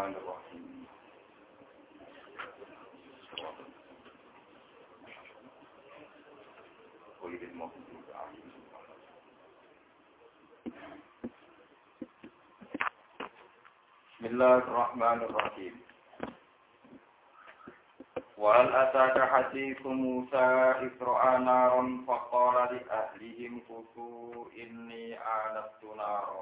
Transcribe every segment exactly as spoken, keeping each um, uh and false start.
Bismillahirrahmanirrahim. Bismillahirrahmanirrahim. Wa hal ataka hadithu Musa Isra'a naran faqala li ahlihim kutu inni anastu nara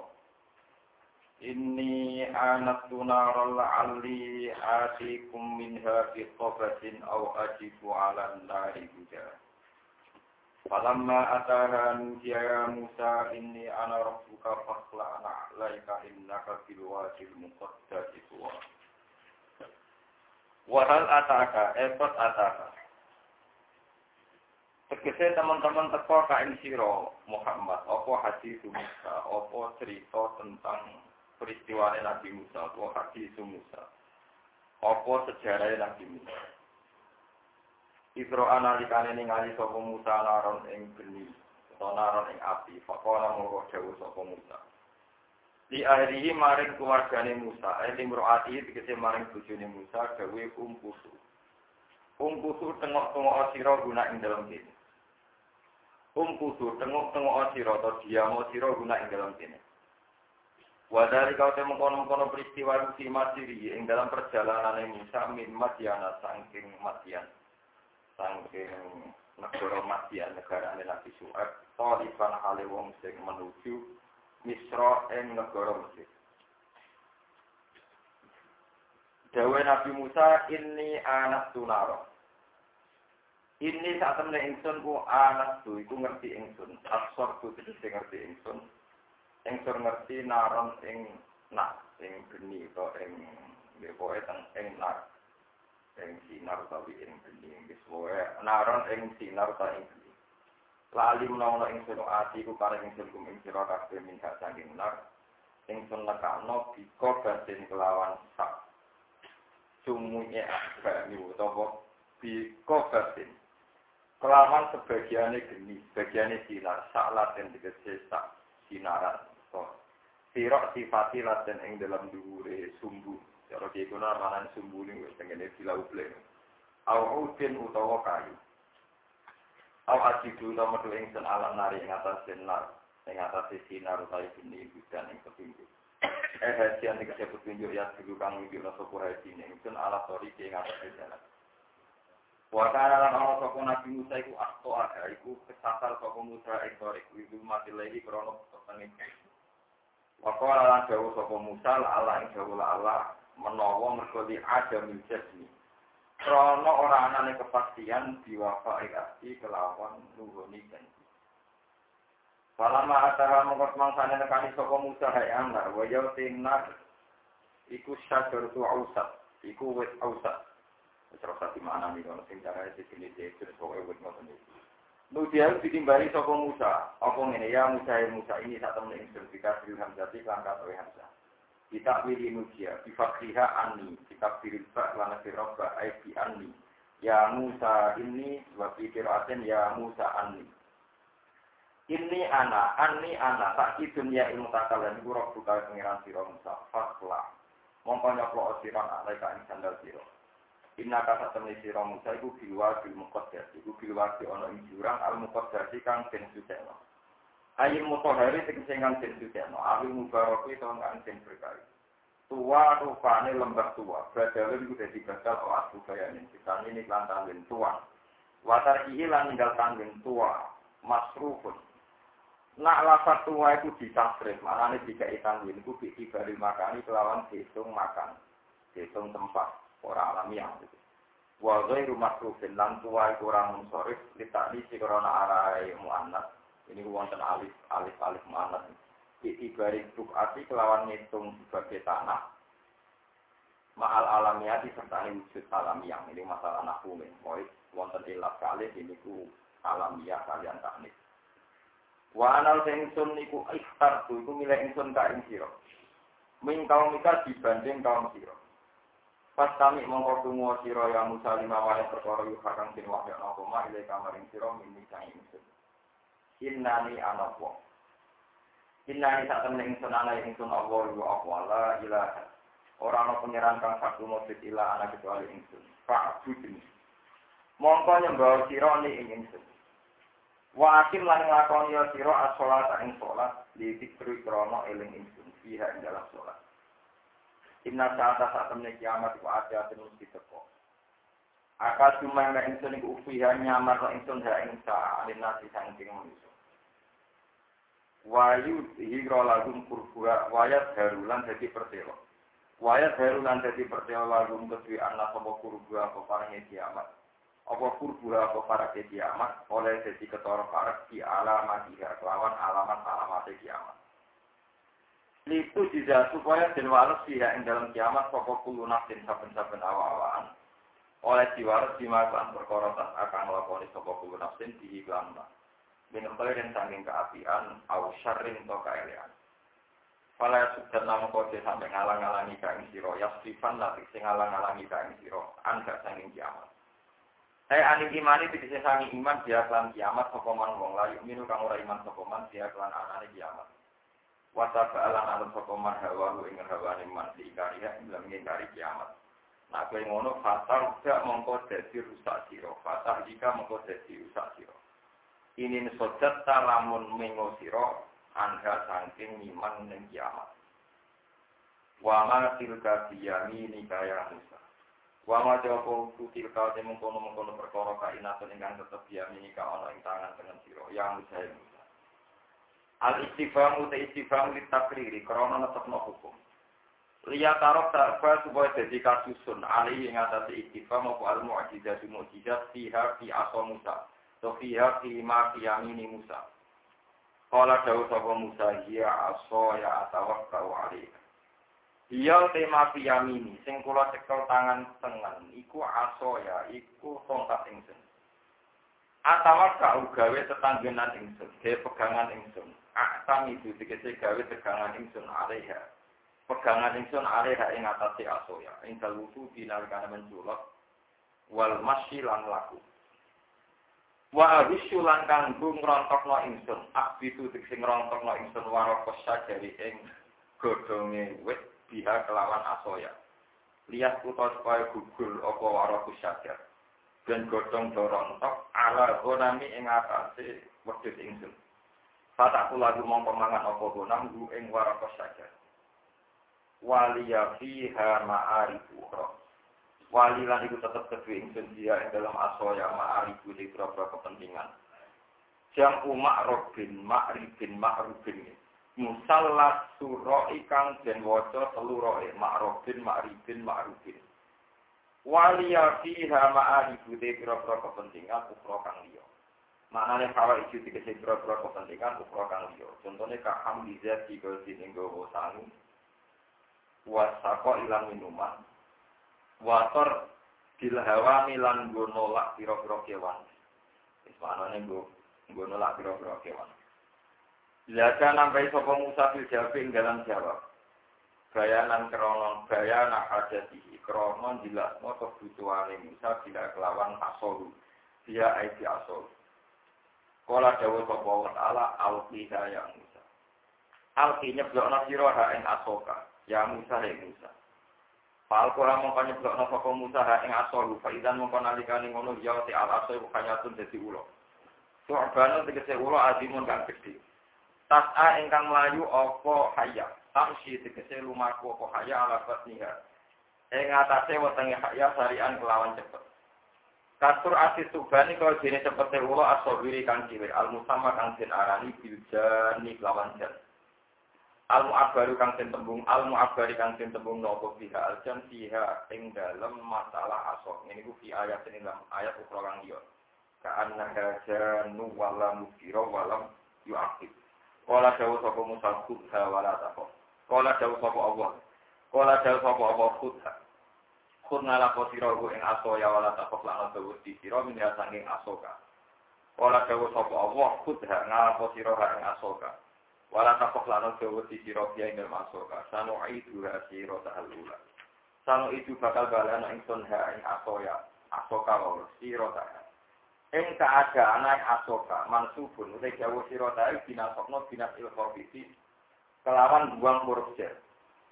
inni anastu nara la'alli atikum minha bi qabatin aw ajibu 'ala an-nari huda. Falamma ataha nudiya ya Musa inni ana rabbuka fakhla'na 'alaika innaka bil wadil muqaddasi tuwa. Wahal ataka, epot ataka. Tegese teman-teman teko ka ing sira Muhammad, apa hadis Musa, apa cerita tentang peristiwa Nabi Musa, apa hadis Musa. Apa sejarah Nabi Musa. Isra analikane ningali sapa Musa naron ing geni, utawa naron ing api, faqala monggo dawuh sapa Musa. Di akhirihi maring keluargane Musa, ayat imro'ati dikese maring bojone Musa, gawe umpusu. Umpusu tengok-tengok sira guna ing dalam kene. Umpusu tengok-tengok sira atau diamo sira guna ing dalam kene. Wadari kau temu kono-kono peristiwa rusi masiri ing dalam perjalanane Musa min Madyana saking Madyan. Saking negara Madyan, negara Nabi Syuaib, talifan hale wong sing menuju Misra ing negara Mesir. Dawe Nabi Musa, ini anas tunaro. Ini saat temen ingsun ku anas tu, iku ngerti ingsun. Asor tu tegese ngerti ingsun. Ingsun ngerti naron ing nak, ing geni atau ing pokoke teng ing nak. Ing sinar tapi ing geni, wis pokoke naron ing sinar ta ing geni. Lali menawa ingsun ati ku kare ingsun kum ing sira kabeh minta saking nar ingsun lekakno bika batin kelawan sak sumuye akbani utawa bika batin kelawan sebagiane geni sebagiane sinar sak laten tegese sak sinaran to sira sifati laten ing dalam dhuwure sumbu cara dikono manan sumbu ning wis tengene dilauple au udin utawa kayu. Aw ajidu nomor dua ingsun alam nari ing atas sinar, ing atas sinar utawi bini budan ing petunjuk. Eh hasian iki petunjuk ya dulu kang iki rasa kurai dine ingsun ala sori ing atas jalan. Wa kana lan ana sapa Nabi Musa iku akto ada iku kesasar sapa Musa ing sori iku mati lagi krana peteng. Wa kana lan dawuh sapa Musa ala ing dawuh Allah menawa mergo di ada miljasmi. Krono ora anane kepastian diwafa ikasi kelawan nuhuni janji. Palama ataha mongkot mangsane nekani sapa Musa hae anggar waya tinar iku syajar tu ausat iku wit ausat. Terus ati mana nih kalau sing cara iki terus pokoke wit ngoten iki. Nu dia ditimbali sapa Musa, apa ngene ya Musa ya Musa ini sak temen ing sertifikat Hamzati lan katoe Hamzah. Kita pilih nugia, bifakriha ani, kita pilih bak lana firroba, aibi ani. Ya Musa ini, dua pikiraten ya Musa ani. Ini ana, ani ana, tak dunia ilmu takalan, buruk buka pengiran siro Musa, faklah. Mongko nyoplo osiran alaika ing sandal siro. Inna kata temui siro Musa, iku bilwa bil muqaddasi, iku bilwa di ono ing jurang, al muqaddasi kang ben sudeno. Ayil mutohari tegesengan den sudeno, awil mubaroki tahun kang den berkali. Tua rupane lembah tua, badalun kudu dibatal o asbu bayanin, disani ini klan tanggin tua. Watar ihi lan ninggal tanggin tua, masrufun. Nak lafaz tua itu disasrif, maknanya dikai tanggin, itu bikibari makani kelawan dihitung makan, dihitung tempat, orang alamiah. Wa ghairu masrufin, lan tua itu orang munsorif, litakni si korona arai mu'annas. Ini wonten alif alif alif mu'annas. Itibari bukati kelawan ngitung sebagai tanah. Ma'al alamiati serta wujud alamiah. Ini masalah nahwu men. Poin wonten ilat kalih ini ku alamiah kalian teknik. Wa anal ingsun niku ikhtar tu iku milih ingsun ka ing sira. Min kaum mika dibanding kaum sira. Pas kami mongko tunggu sira ya Musa lima wae perkara yu hakang den wahya apa ma ile kamaring sira min sang ingsun. Innani anakwa. Innani sak temen ingsun ana ingsun Allah wa Allah la ilaha Ora ana pangeran kang satu mujud ila ana kecuali ingsun. Fa'budni. Mongko nyembah sira ni ing ingsun. Wa akhir lan nglakoni sira as-shalat ing salat li dikri krana eling ingsun fiha ing dalam salat. Inna sa'ata sa'atamne kiamat wa ajatin mesti teko. Akal cuma mek ingsun iku fiha nyamar ingsun ha ing sa'alin nasi saking manusa. Wayu hira lagum kurbuha wayat harulan dadi pertelo. Wayat harulan dadi pertelo lagum kedue ana sapa kurbuha apa parange kiamat. Apa kurbuha apa parange kiamat oleh dadi ketara parek di alamat dia kelawan alamat-alamat kiamat. Liku juga supaya den waras dia ing dalam kiamat sapa kulo nafsin saben-saben awak-awakan. Oleh diwaras dimakan perkara tas akan nglakoni sapa kulo nafsin diiklanna. Minum kalian saking keapian, au syarrin to kaelean. Pala sudah nama kode sampai ngalang-alangi kain siro, yasrifan lati sing ngalang-alangi kain siro, anda saking kiamat. Saya aning imani tidak sangi iman dia kelan kiamat, sokoman wong layu minu kang ora iman sokoman dia kelan anane kiamat. Wasa baalan alam sokoman hawa lu ingin hawa iman diikariha ilam ngingkari kiamat. Nah kau ngono fatar udah mongko dadi rusak siro, fatar jika mongko dadi rusak siro. Ini sojat talamun mengo siro anda saking iman ning kiamat. Wa ma tilka biyami nikaya Musa. Wa ma jawabu tilka temung kono-kono perkara kainatun ingkang tetep biyami nika ana ing tangan tengen siro yang Musa Musa. Al istifham uta istifham litakriri krana netepno hukum. Liya tarok tarfa supaya dadi kasusun ali ing atase istifham apa al mu'jizat mu'jizat fiha fi asa Musa. Sofia kima kiyamini Musa. Kala dawu sapa Musa ya aso ya atawakkau alaihi. Iya tema kiyamini sing kula cekel tangan tengen iku aso ya iku tongkat ingsun. Atawakkau gawe tetanggenan ingsun, gawe pegangan ingsun. Aktam itu dikese gawe pegangan ingsun alaiha. Pegangan ingsun alaiha ing atase aso ya. Ing dalwudu dinalkana menculok wal masyi lan laku. Wa abisu lan kanggo ngrontokno ingsun abitu sing ngrontokno ingsun waraka sajari ing godhonge wit biha kelawan asoya lihat putus kaya gugur apa waraka sajar ben godhong dorontok ala gonami ing atase wedhus ingsun fataku lagu mongko mangan apa gonam gu ing waraka sajar waliya fiha ma'arifu wali lan itu tetap kedua ingsun dia yang dalam asoya ma'aribu di beberapa kepentingan. Jam umak robin, ma'ribin, ma'rubin. Musallat suro ikang dan waco teluroi, ma'robin, ma'ribin, ma'rubin. Wali ya fiha ma'aribu di beberapa kepentingan, ukro kang liyo. Maknanya kalau itu dikasih beberapa kepentingan, ukro kang liyo. Contohnya kaham dizat di gozin inggo sangu. Wasako ilang minuman. Wator dilhawa milan nggo nolak pira-pira kewan. Wis manane nggo nggo nolak pira-pira kewan. Lha nampai sapa Musa fil jawabing dalam jawab. Bayanan krono bayana adati krono dilasno kebutuhane Musa bila kelawan asol. Dia aiti asol. Kala dawuh sapa wa ta'ala alqiha ya Musa. Alqi nyeblokna sira ha ing asoka. Ya Musa he Musa. Fal kula mongko nyeblokno sapa Musa ing asor fa idzan mongko nalikane ngono ya te al asor kanyatun dadi ulo. Su'banu tegese ulo azimun kang gedhe. Tas'a ingkang mlayu apa hayya. Tamsi tegese lumaku apa hayya ala batniha. Ing atase wetenge hayya sarian kelawan cepet. Kasur asis subani kaya dene cepete ulo asobiri kang cilik al musamma kang den arani biljani kelawan jan. Al-mu'abbaru kang den tembung al-mu'abbari kang den tembung napa fiha al-jan fiha ing dalem masalah asor. Ini ku fi ayat ini dalam ayat ukra kang liya. Ka'anna hajanu wala mukira walam yu'aqib. Qala dawu sapa Musa khudha wala taqaf. Qala dawu sapa Allah. Qala dawu sapa Allah khudha. Khudna la posira ku ing aso ya wala taqaf lan dawu di sira min saking asoka. Qala dawu sapa Allah khudha ngala posira ing asoka. Wala takok lano dawa di sira biya ing masoka sanu itu hasira ta'alula sanu itu bakal balana ingsun ha ing asoya asoka wa sira ta ing keadaan asoka mansubun utek dawa sira ta binasokno binas il khabisi kelawan buang huruf jar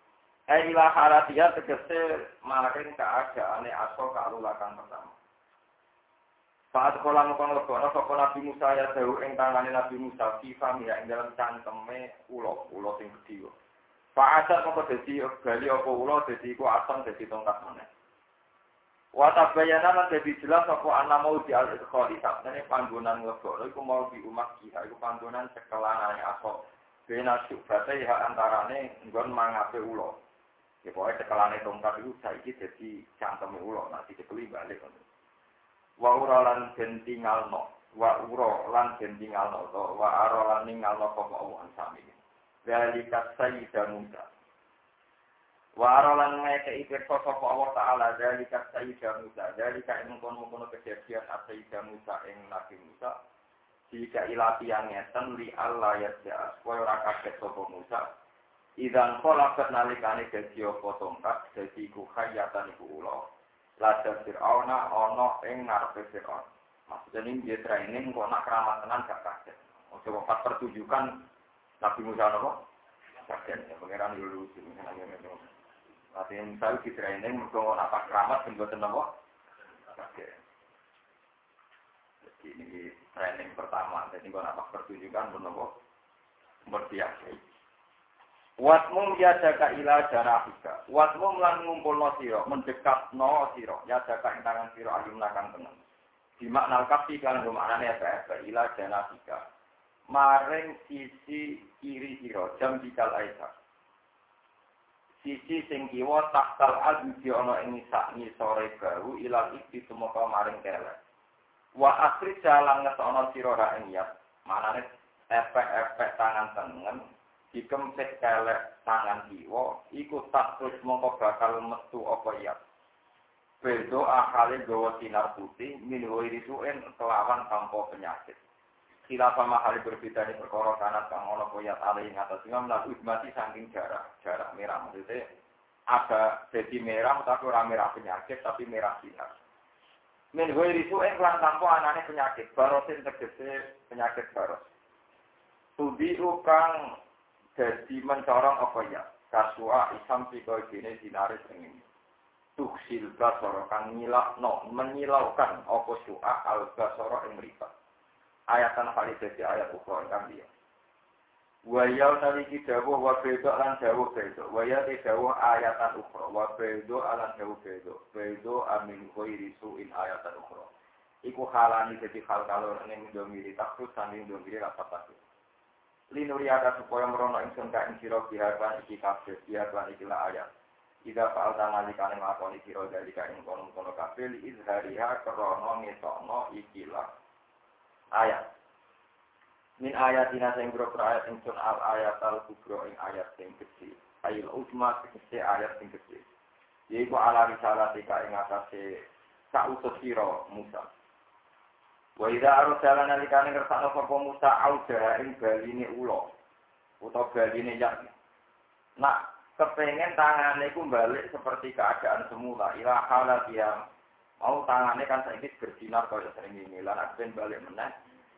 Eh ila haratia tegese maring keadaane aso kalulakan pertama. Saat kala mukon lebono sapa Nabi Musa ya dawuh ing tangane Nabi Musa sifam ya ing dalam cangkeme ulo, ulo sing gedhe. Fa'asat moko dadi gali apa ulo dadi iku asam dadi tongkat meneh. Wa tabayyana lan dadi jelas apa ana mau di al-khali sakjane panggonan lebono iku mau di umat kita iku panggonan sekelanane aso. Bena syubate ya antarane nggon mangape ulo. Ya pokoke sekelane tongkat iku saiki dadi cangkeme ulo nanti dikeli balik. Wa ura lan den tingalno wa ura lan den tingalno to wa ara lan ningalno apa Allah sami dalika sayyida Musa wa ara lan ngeke iki sapa Allah taala dalika sayyida Musa dalika ing kono-kono kejadian sayyida Musa ing Nabi Musa jika ilati yang ngeten li Allah ya ja koyo ora kaget sapa Musa idan pola nalikane dadi apa tongkat dadi ku khayatan iku ulo Lada Fir'auna ono ing ngarepe Fir'aun. Maksudnya ini dia training kok nak keramat tenan gak kaget. Oke, pas pertunjukan Nabi Musa apa? Kaget ya, pangeran dulu sih. Latihan saya di training mergo nak pas keramat ben boten apa? Kaget. Jadi ini training pertama, jadi kok nak pas pertunjukan ben apa? Berbiasa. Watmum ya jaga ila janafika. Watmum lan ngumpulno sira, mendekatno sira, ya jaga ing tangan sira alim nakang tengen. Di makna kafi kan maknane apa ila janafika. Maring sisi kiri sira, jam dikal aisa. Sisi sing kiwa takal adhi ana ing sak ngisore garu ila iki tumeka maring kelek. Wa akhir jalan ngetokno sira ra ing ya. Maknane efek-efek tangan tengen dikempet kelek tangan kiwa iku tak terus mongko bakal metu apa ya bedo akale gawa sinar putih minho irisuen kelawan tanpa penyakit khilafah mahali berbeda ni perkara kanat kang ana koyat ali ing atas sing mlaku mati saking jarak jarak merah maksudnya agak jadi merah tapi ora merah penyakit tapi merah sinar minho irisuen lan tanpa anane penyakit barosin tegese penyakit baros tudi kang jadi mencorong apa ya? Kasua isam siko gini dinaris ini. Tuksil basoro kang nyilak no menyilaukan apa su'a al basoro ing riba. Ayatan kali jadi ayat ukro kang dia. Wayau naliki dawuh wa bedo lan dawuh bedo. Wayau di dawuh ayatan ukro wa bedo lan dawuh bedo. Bedo amin khairi su'in ayatan ukro. Iku halani jadi hal kalor ini mendomiri takut sambil mendomiri rapat takut. Linuri ada supaya merono ingsun ka ing sira biharan iki kabeh biharan iki la ayat. Ida fa'al tanalika nglakoni sira dari ka ing kono-kono kabeh izhariha krana ngetokno iki la ayat. Min ayatina sing boro ayat ingsun al ayat al kubra ing ayat sing gedhe. Ayat utma sing ayat sing gedhe. Yaiku ala risalatika ing atase sautus sira Musa. Wa idza arsala nalikane kersane sapa Musa auda ing baline ula utawa baline yak. Nak kepengen tangane iku balik seperti keadaan semula ila halat yang mau tangane kan saiki bersinar kaya sering ini lan aben balik meneh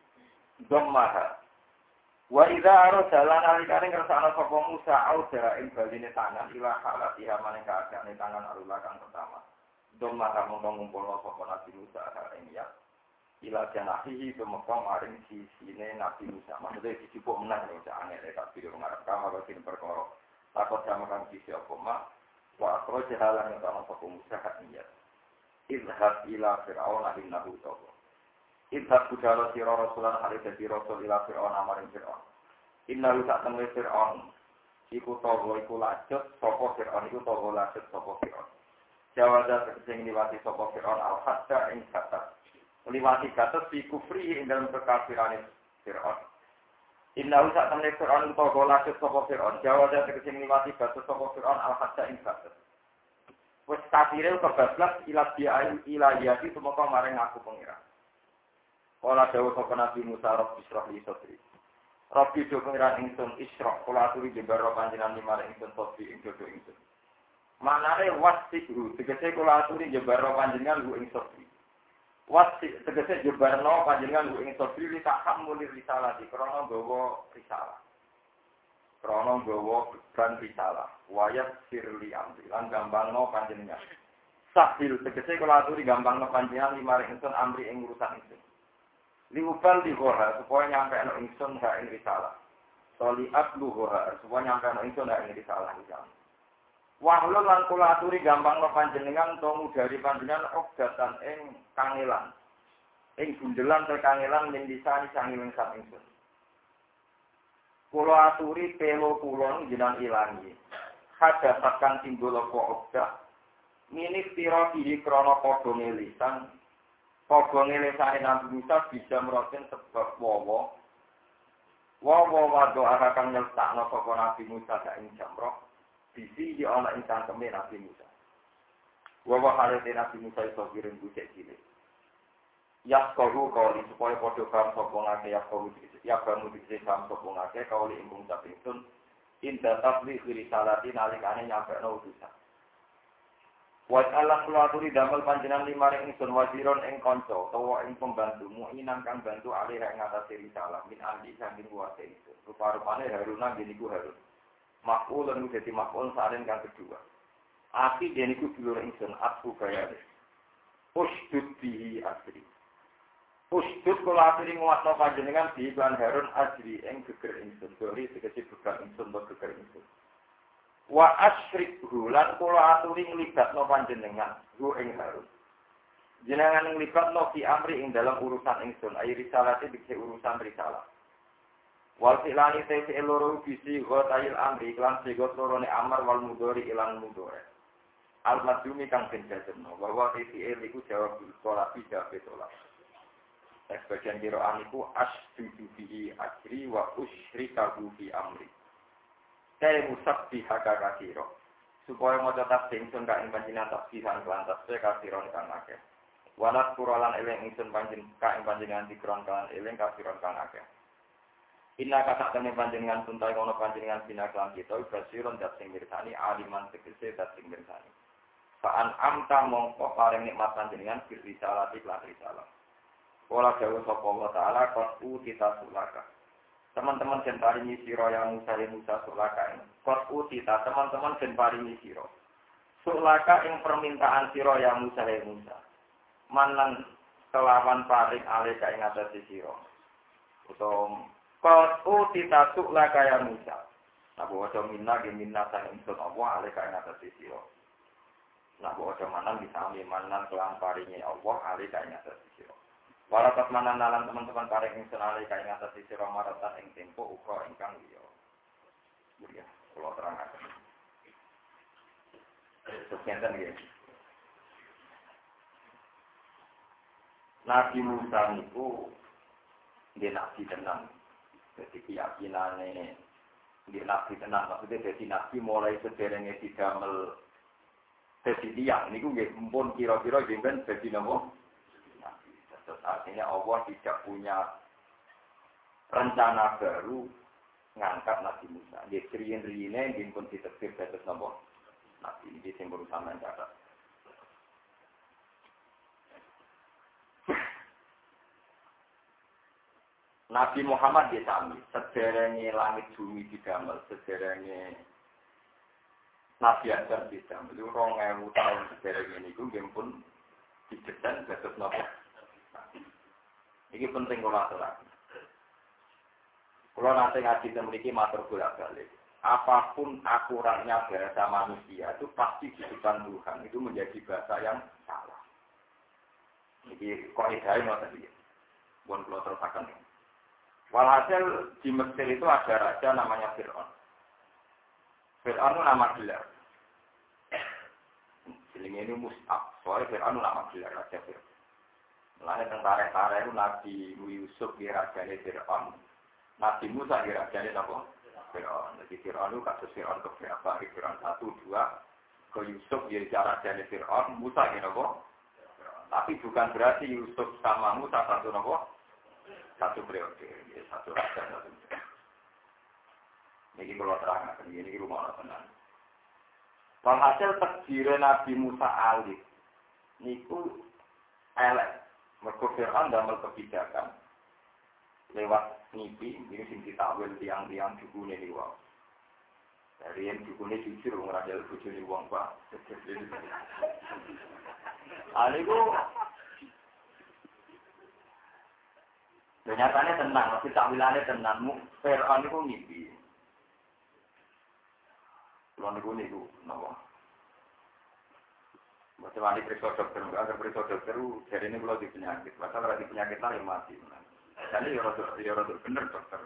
dhammaha. Wa idza arsala nalikane kersane sapa Musa auda ing baline tangan ila halat ya maning keadaan tangan alula kang pertama. Dhammaha mung ngumpulno sapa Nabi Musa ing yak. Ila janahihi pemekam maring sisine Nabi Musa. Maksudnya disibuk menang nih, jangan ada tak video mengarap kamar bagian perkara. Takut sama kan sisi apa mak. Wa akro jahalan yang sama Nabi Musa hatiyat. Idhab ila Fir'aun innahu tawwa. Idhab budala sira rasulan hari dadi rasul ila Fir'aun amaring Fir'aun. Innahu sak temui Fir'aun. Iku tawwa iku lajut sapa Fir'aun iku tawwa lajut sapa Fir'aun. Jawada sing liwati sapa Fir'aun al-hatta ing kata liwati gatos di kufri ing dalam kekafiran Fir'aun. Inna usak temne Fir'aun utawa golasut sapa Fir'aun. Jawa dan tegese liwati gatos sapa Fir'aun al-hadza ing gatos. Wes kafire kebablas ila dia ila yati tumeka maring aku pengira. Kala dawuh sapa Nabi Musa Rabbi Israh li sadri. Rabbi do pengiran ingsun Israh kula aturi jembar panjenengan maring ingsun sadri ing dodo ingsun. Manare wasihu tegese kula aturi jembar panjenengan lu ing sadri. Wasi tegese jebarno panjenengan ing sodri li tak hamuli risalah di krana gawa risalah. krana nggawa beban risalah wayat sirli amri lan gampangno panjenengan sahil tegese kula aturi gampangno panjenengan limaring ingsun amri ing urusan ingsun liubal dighora supaya nyampe ana ingsun ha ing risalah soli abluha supaya nyampe ana ingsun ha ing risalah iki wahlul lan kula aturi gampangno panjenengan to ngudari panjenengan ogdatan ing kangelan ing bundelan te kangelan ning disani sangiling sak ingsun kula aturi pelo kula jenengan ilangi hadha sakang timbul apa ogdah minik tira iki krana padha ngelisan padha ngelisane Nabi Musa bisa meroten sebab wawa wawa wado akan nyeltakno saka Nabi Musa sak ing jamrah bisi di ana ing cangkeme Nabi Musa. Wawa harete Nabi Musa iso kirim bucek cilik. Ya koru kauli supaya padha paham sapa ngake ya koru ya kamu dikse paham sapa ngake kauli ing ngucap ingsun inda tabligh risalati nalikane nyampekno utusan. Wa Allah kula aturi damel panjenengan limaring ingsun waziron ing kanca utawa ing pembantu muinan kang bantu alih ing ngatasi risalah min ahli saking kuwase itu. Rupa-rupane Haruna ngene iku Harun. Makul dan menjadi makul saaren yang kedua. Aki dia niku dulur ingsun aku bayar. Usdud bihi asri. Usdud kula asri nguwatno panjenengan bi lan Harun asri ing geger ingsun. Dori tegese geger ingsun to geger ingsun. Wa asrik hulan kula aturi nglibatno panjenengan hu ing Harun. Jenengan nglibatno fi amri ing dalam urusan ingsun. Ai risalate dikse urusan risalah. Wal silani te loro bisi ghail amri lan segot lorone amar wal mudhari ilang mudhari. Al madhumi kang penjajeno bahwa titi iku jawab salat tidak betul. Sebagian kiraan iku asjudu bihi ajri wa usyrikahu fi amri. Kaya musabbi haka kasiro. Supaya maca tasbih ingsun ka ing panjenengan tasbihan lan tasbih kasiron kang akeh. Walat kuralan eling ingsun panjenengan ka ing panjenengan dikron kan eling kasiron kang akeh. Inna kata temen panjenengan tuntai kono panjenengan binaklan kita basiron dat sing mirsani aliman tegese dat sing mirsani. Fa'an amta mongko paring nikmat panjenengan bir risalah lan risalah. Kala dawuh sapa Allah taala qatu kita sulaka. Teman-teman den paringi sira yang Musa Musa sulaka. Qatu kita teman-teman den paringi sira. Sulaka ing permintaan sira yang Musa Musa. Manan kelawan paring alih ka ing atase sira. Utawa Qatu titasuk la kaya Musa. Nah bawa minna ge minna sang ingsun Allah alih ka ing atase sira. Nah bawa manan disami manan kelan paringe Allah alih ka ing atase sira. Wala tas manan nalan teman-teman paring ingsun alih ka ing atase sira maratan ing tempo uga ingkang liya. Ya, kula terangaken. Sekian nggih. Nabi Musa niku nggih nabi tenan. Jadi keyakinannya di nabi tenang, maksudnya jadi nabi mulai sederhana didamel jadi tiang, ini gue mumpun kira-kira jengben jadi nama nabi. Terus artinya Allah tidak punya rencana baru ngangkat Nabi Musa. Dia kriin-riinnya jengben diterbit terus nama nabi. Ini yang berusaha mencatat. Nabi Muhammad di sami, sederhana langit bumi didamel, sederhana Nabi Adam didamel. Itu rong ewu tahun sederhana ini, itu pun dijedan dados napa. Ini penting kalau aturaken. Kalau nanti ngaji memiliki matur bolak-balik, apapun akuratnya bahasa manusia itu pasti di depan Tuhan itu menjadi bahasa yang salah. Ini kaidah ini tadi. Bukan kalau terusakan ini. Walhasil di Mesir itu ada raja namanya Fir'aun. Fir'aun itu nama gelar. Jenenge ini Mus'ab. Soalnya Fir'aun itu nama gelar raja Fir'aun. Mulanya tentara-tentara itu Nabi Yusuf di rajanya Fir'aun. Nabi Musa di rajanya apa? Fir'aun. Jadi Fir'aun itu kasus Fir'aun ke berapa? Fir'aun satu, dua. Ke Yusuf di rajanya Fir'aun. Musa di apa? Tapi bukan berarti Yusuf sama Musa satu apa? Satu periode, satu raja, satu periode. Ini kalau terang, ini rumah orang tenang. Walhasil takdir Nabi Musa alif, niku elek, mergo Fir'aun damel kebijakan lewat mimpi, ini sing ditakwil tiang-tiang dukune niku. Dari yang dukune jujur ngrajal bojone wong Pak. Ali ku nyatane tenang, tapi takwilane tenang. Fir'aun iku ngimpi. Kulo niku niku napa? Macam mana periksa dokter, agar periksa dokter, jadi ini kalau di penyakit, pasal ada di penyakit lain mati. Jadi ya rada ya rada bener dokter.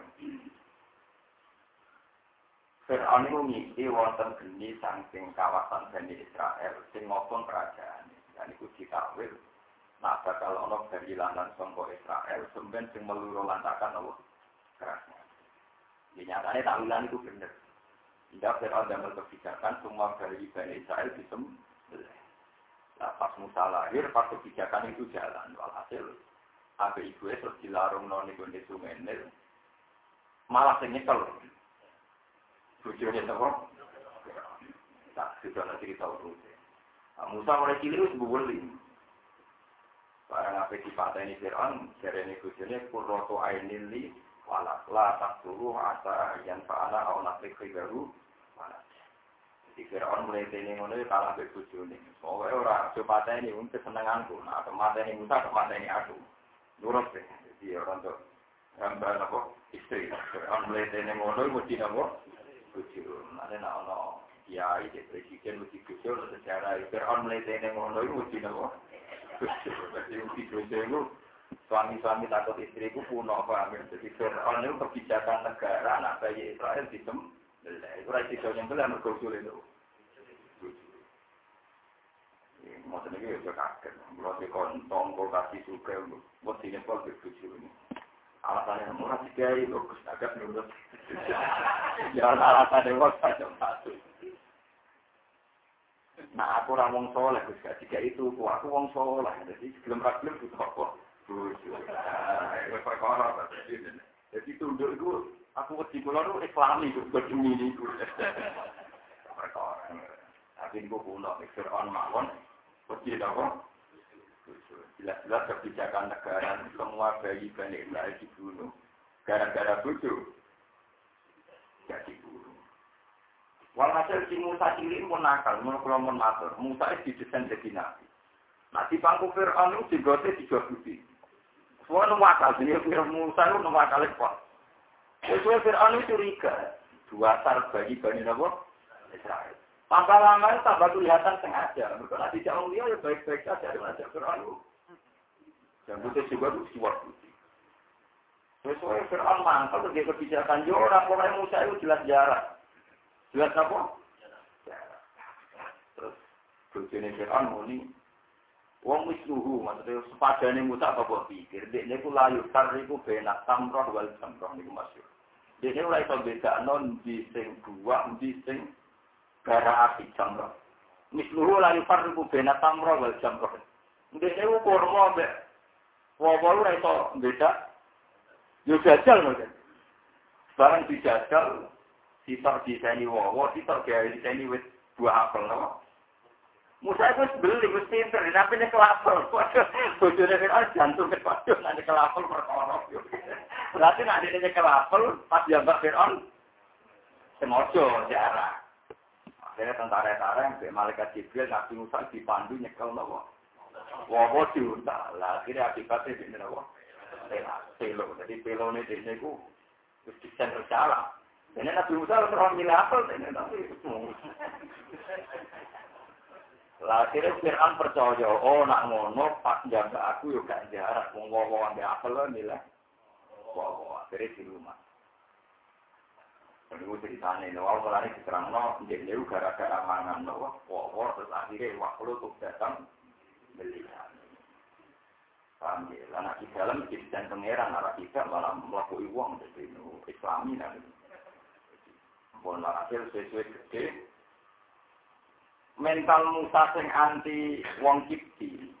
Fir'aun itu ngisi wonten geni saking kawasan Bani Israel sing ngopong kerajaan. Dan itu ditakwil, nah bakal ono dari lantan sangka Israel, sampeyan sing meluru lantakan Allah kerajaan. Di nyatanya takwilan itu bener. Tidak Fir'aun damel kebijakan semua dari Bani Israel disembelih. Nah, pas Musa lahir, pas kebijakan itu jalan. Walhasil, abe ibu terus dilarung noni gonde sungai Nil, malah sing nyekel. Bujurnya apa? Tak, sudah nanti kita urus. Nah, Musa mulai cilik itu sebuah barang apa di pantai ini Fir'aun, dari ini bujurnya kurroto ainili, walak la tak suruh asa yang fa'ala au nasrik baru, walak. Jadi Fir'aun mulai ini mulai kalah be bujurnya. Pokoknya orang coba pantai ini untuk kesenanganku. Nah, pantai ini Musa, pantai ini aku. Nurut deh. Jadi orang tuh gambar apa istri. Fir'aun mulai ini mulai mesti apa? Bujur, nanti nak ono kiai, presiden mesti bujur secara Fir'aun mulai tene ngono itu mesti nopo bujur. Jadi mesti bujur itu suami-suami takut istriku kuno paham. Jadi Fir'aun itu kebijakan negara anak bayi Israel sistem, itu resiko yang benar berkusul itu. Maksudnya itu kaget, kalau di kontong, kalau kasih suka, mesti nyepol bujur ini. Alasannya murah tiga itu, agak nurut. Ya alasannya waktu saja satu. Nah aku orang wong soleh, ketika itu aku wong soleh, jadi sebelum ragilum itu apa? Bujur. Itu perkara. Jadi tunduk itu, aku wedi kula itu islami itu, berdemi itu. Perkara. Tapi itu kuno, Fir'aun mawon, wedi apa? Jelas-jelas kebijakan negara semua bayi Bani Israel dibunuh gara-gara bujur jadi dibunuh. Walhasil si Musa cilik pun nakal, menurut kelompok matur. Musa itu didesain jadi nabi. Nah di pangku Fir'aun itu digote dijodohi. Semua nuwakal, jadi Musa itu nuwakal ekor. Sesuai Fir'aun itu curiga, dua tar bagi Bani Israel. Tambah lama itu tambah kelihatan sengaja. Kalau tidak mulia ya baik-baik saja dengan Fir'aun. Dan putih juga itu siwak putih. Sesuai Fir'aun mantap dia kebijakan. Ya orang-orang Musa itu jelas jarak. Jelas apa? Jarak. Terus bujurnya Fir'aun ini. Wong misluhu. Maksudnya sepadanya Musa apa pikir. Dia itu layu. Karena itu benak tamroh wal jamroh. Ini masyur. Dia itu mulai berbeda. Non di sing dua. Di sing gara api jamroh. Misluhu layu karena itu benak tamroh wal jamroh. Dia itu kurma ambek. Wawalu itu beda, yo jajal mungkin. Barang dijajal, sitok di sini wawa, sitok di sini wis dua apel, no? Musa itu beli, wis pinter, tapi ini kelapel. Bojone kan jantung kepaduh, nanti kelapel perkara. Berarti nanti ini kelapel, pas jambak Fir'aun, semojo jarak. Akhirnya tentara-tentara yang malaikat Jibril, Nabi Musa dipandu nyekel, no? Wawa diuntal, akhirnya akibatnya ini apa? Pelo, jadi pelo ini ini ku desain bersalah. Ini Nabi Musa orang milih apel, ini tapi lah akhirnya Fir'aun percaya, oh nak ngono pas jaga aku yuk gak jarak, mau wawa ambil apel lah milih wawa, akhirnya di rumah. Jadi gue ceritanya, wawa mulai diterang, no, jadi gara-gara mangan, no, wawa terus akhirnya waktu tuh datang belian. Paham ya? Anak di dalam jadi pangeran, arah kita malah melakukan uang dari Islami dan pun hasil sesuai gede. Mental Musa sing anti wong Kipti.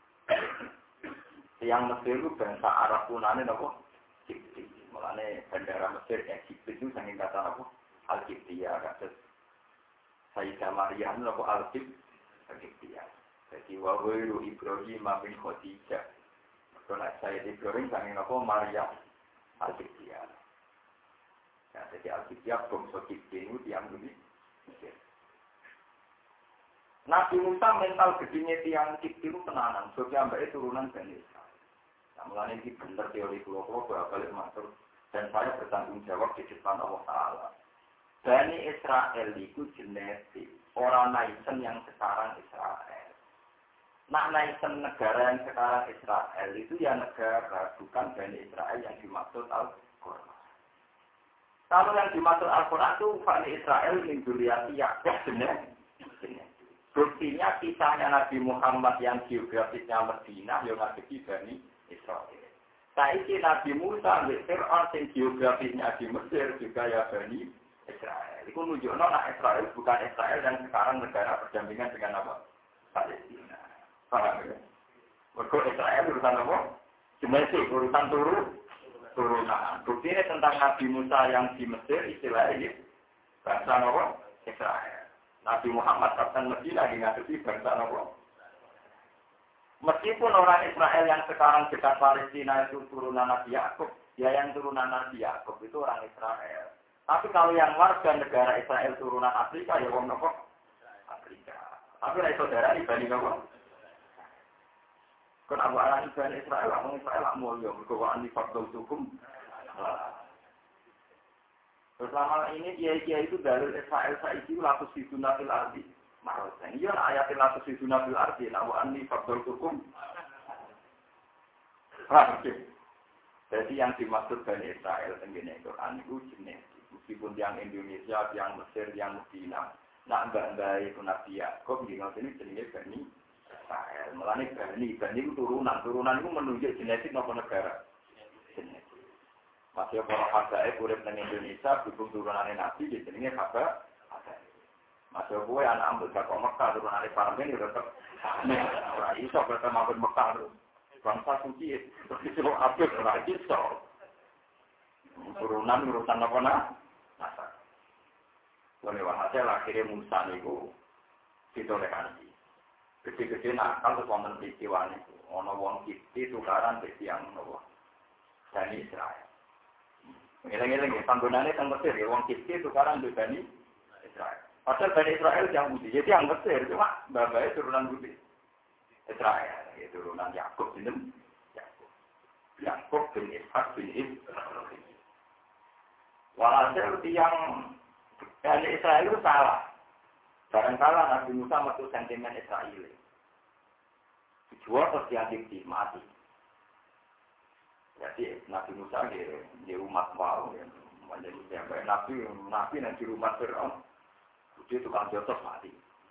Yang Mesir itu bangsa Arab punane napa? Kipti. Mulane bandara Mesir Egypt itu saking kata apa? Al-Kiptiya kados Sayyidah Maryam napa Al-Kiptiya. Jadi wawiru Ibrahim bin Khadijah. Kalau saya Ibrahim sangat apa Maria Al-Qibtiyah. Ya, jadi Al-Qibtiyah bangsa Qibti itu yang lebih Nabi Musa mental gedenya tiang Kipti itu tenanan, sebab mbaknya turunan Bani Israil. Nah, mulanya ini benar teori pulau-pulau balik matur, dan saya bertanggung jawab di depan Allah Taala. Bani Israil itu genetik, orang Naisen yang sekarang Israel. Nah, Naisen negara yang sekarang Israel itu ya negara, bukan Bani Israel yang dimaksud Al-Quran. Kalau yang dimaksud Al-Quran itu Bani Israel min dzurriyyati Ya'qub genetik. Buktinya kisahnya Nabi Muhammad yang geografisnya Madinah, yang ngadepi Bani Israil. Saiki Nabi Musa di Fir'aun yang geografisnya di Mesir juga ya Bani Israil. Itu menunjukkan nah Israel bukan Israel dan sekarang negara berdampingan dengan apa? Palestina. Paham ya? Mergo Israel urusan apa? Genetik, urusan turun, turunan. Buktinya tentang Nabi Musa yang di Mesir istilahnya bangsa apa? Israel. Nabi Muhammad datang Madinah lagi ngadepi bangsa apa? Meskipun orang Israel yang sekarang dekat Palestina itu turunan Nabi Yakub, ya yang turunan Nabi Yakub itu orang Israel. Tapi kalau yang warga negara Israel turunan Afrika, ya wong nopo Afrika. Tapi lah saudara ibani nopo. Kan abu anak ibani Israel, orang Israel lah mulia, berkewaan di faktor hukum. Selama ini kiai-kiai itu dari Israel saya itu latus di sunatil ardi. Maksudnya, iya ayatil latus di sunatil ardi. Nawaan di faktor hukum. Jadi yang dimaksud Bani Israel tenggine Quran itu jenis. Meskipun yang Indonesia, yang Mesir, yang Medina. Nah, mbak-mbak itu Nabi Yaakob, di sini jenisnya Bani Israel. Melani Bani, Bani itu turunan. Turunan itu menunjuk genetik maupun negara. Genetik. Masih para habaib urip nang Indonesia dukung turunane Nabi di jenenge habaib. Masih kowe anak ambil kok Mekah turunane Parmen yo tetep ora iso ketemu ambil Mekah. Bangsa suci terus iso apik ora iso. Turunan urusan apa nah? Nasab. Boleh wae akhirnya Musa niku ditoleransi. Gede-gede nakal terus wonten peristiwa niku. Ana wong Kipti tukaran dadi yang nopo? Bani Israil. Ngeleng-ngeleng, panggonannya yang Mesir, ya, wong Kipti tukaran di Bani Israil. Padahal Bani Israil yang Budi, jadi yang Mesir, cuma babanya turunan Budi. Israil, ya, turunan Yakub ini. Yakub. Yakub bin Ishak bin Ibrahim. Walhasil yang Bani Israil itu salah. Barangkala Nabi Musa metu sentimen Israel. Dijual terus yang Kipti, mati. Jadi Nabi Musa di umat mau, menjadi siapa? Nabi, Nabi nanti rumah Fir'aun, dia tukang jotos mati.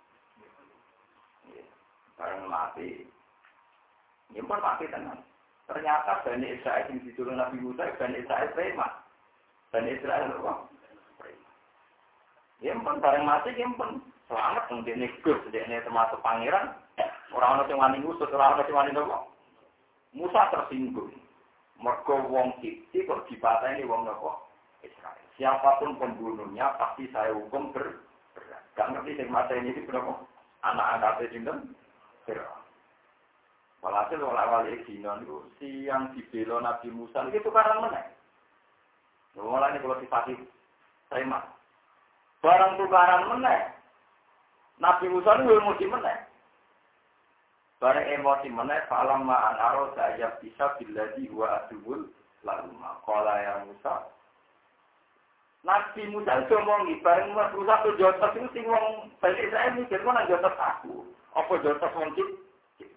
Barang mati, nyimpan mati tenang. Ternyata Bani Israel yang diturun Nabi Musa, Bani Israel preman. Bani Israel apa? Preman. Nyimpan barang mati, nyimpan selamat mungkin negus, dia termasuk pangeran. Orang-orang yang wani musuh, orang-orang yang wani nopo. Musa tersinggung. Mergo wong Kipti kok dipateni wong nopo Israel. Siapapun pembunuhnya pasti saya hukum ber berat. Gak ngerti sing mateni iki berapa? Anak-anak sinten? Fir'aun. Walhasil awal-awal dino niku siang dibela Nabi Musa iki tukaran meneh. Mulane kula sifati terima. Barang tukaran meneh. Nabi Musa niku emosi meneh. Barang emosi meneh falam ma anaro saya bisa biladi wa adul lalu maqala ya Musa. Nabi Musa ngomongi bareng Musa tuh jotos itu sing wong Bani Israil mikir kok nang jotos aku. Apa jotos wong Kipti?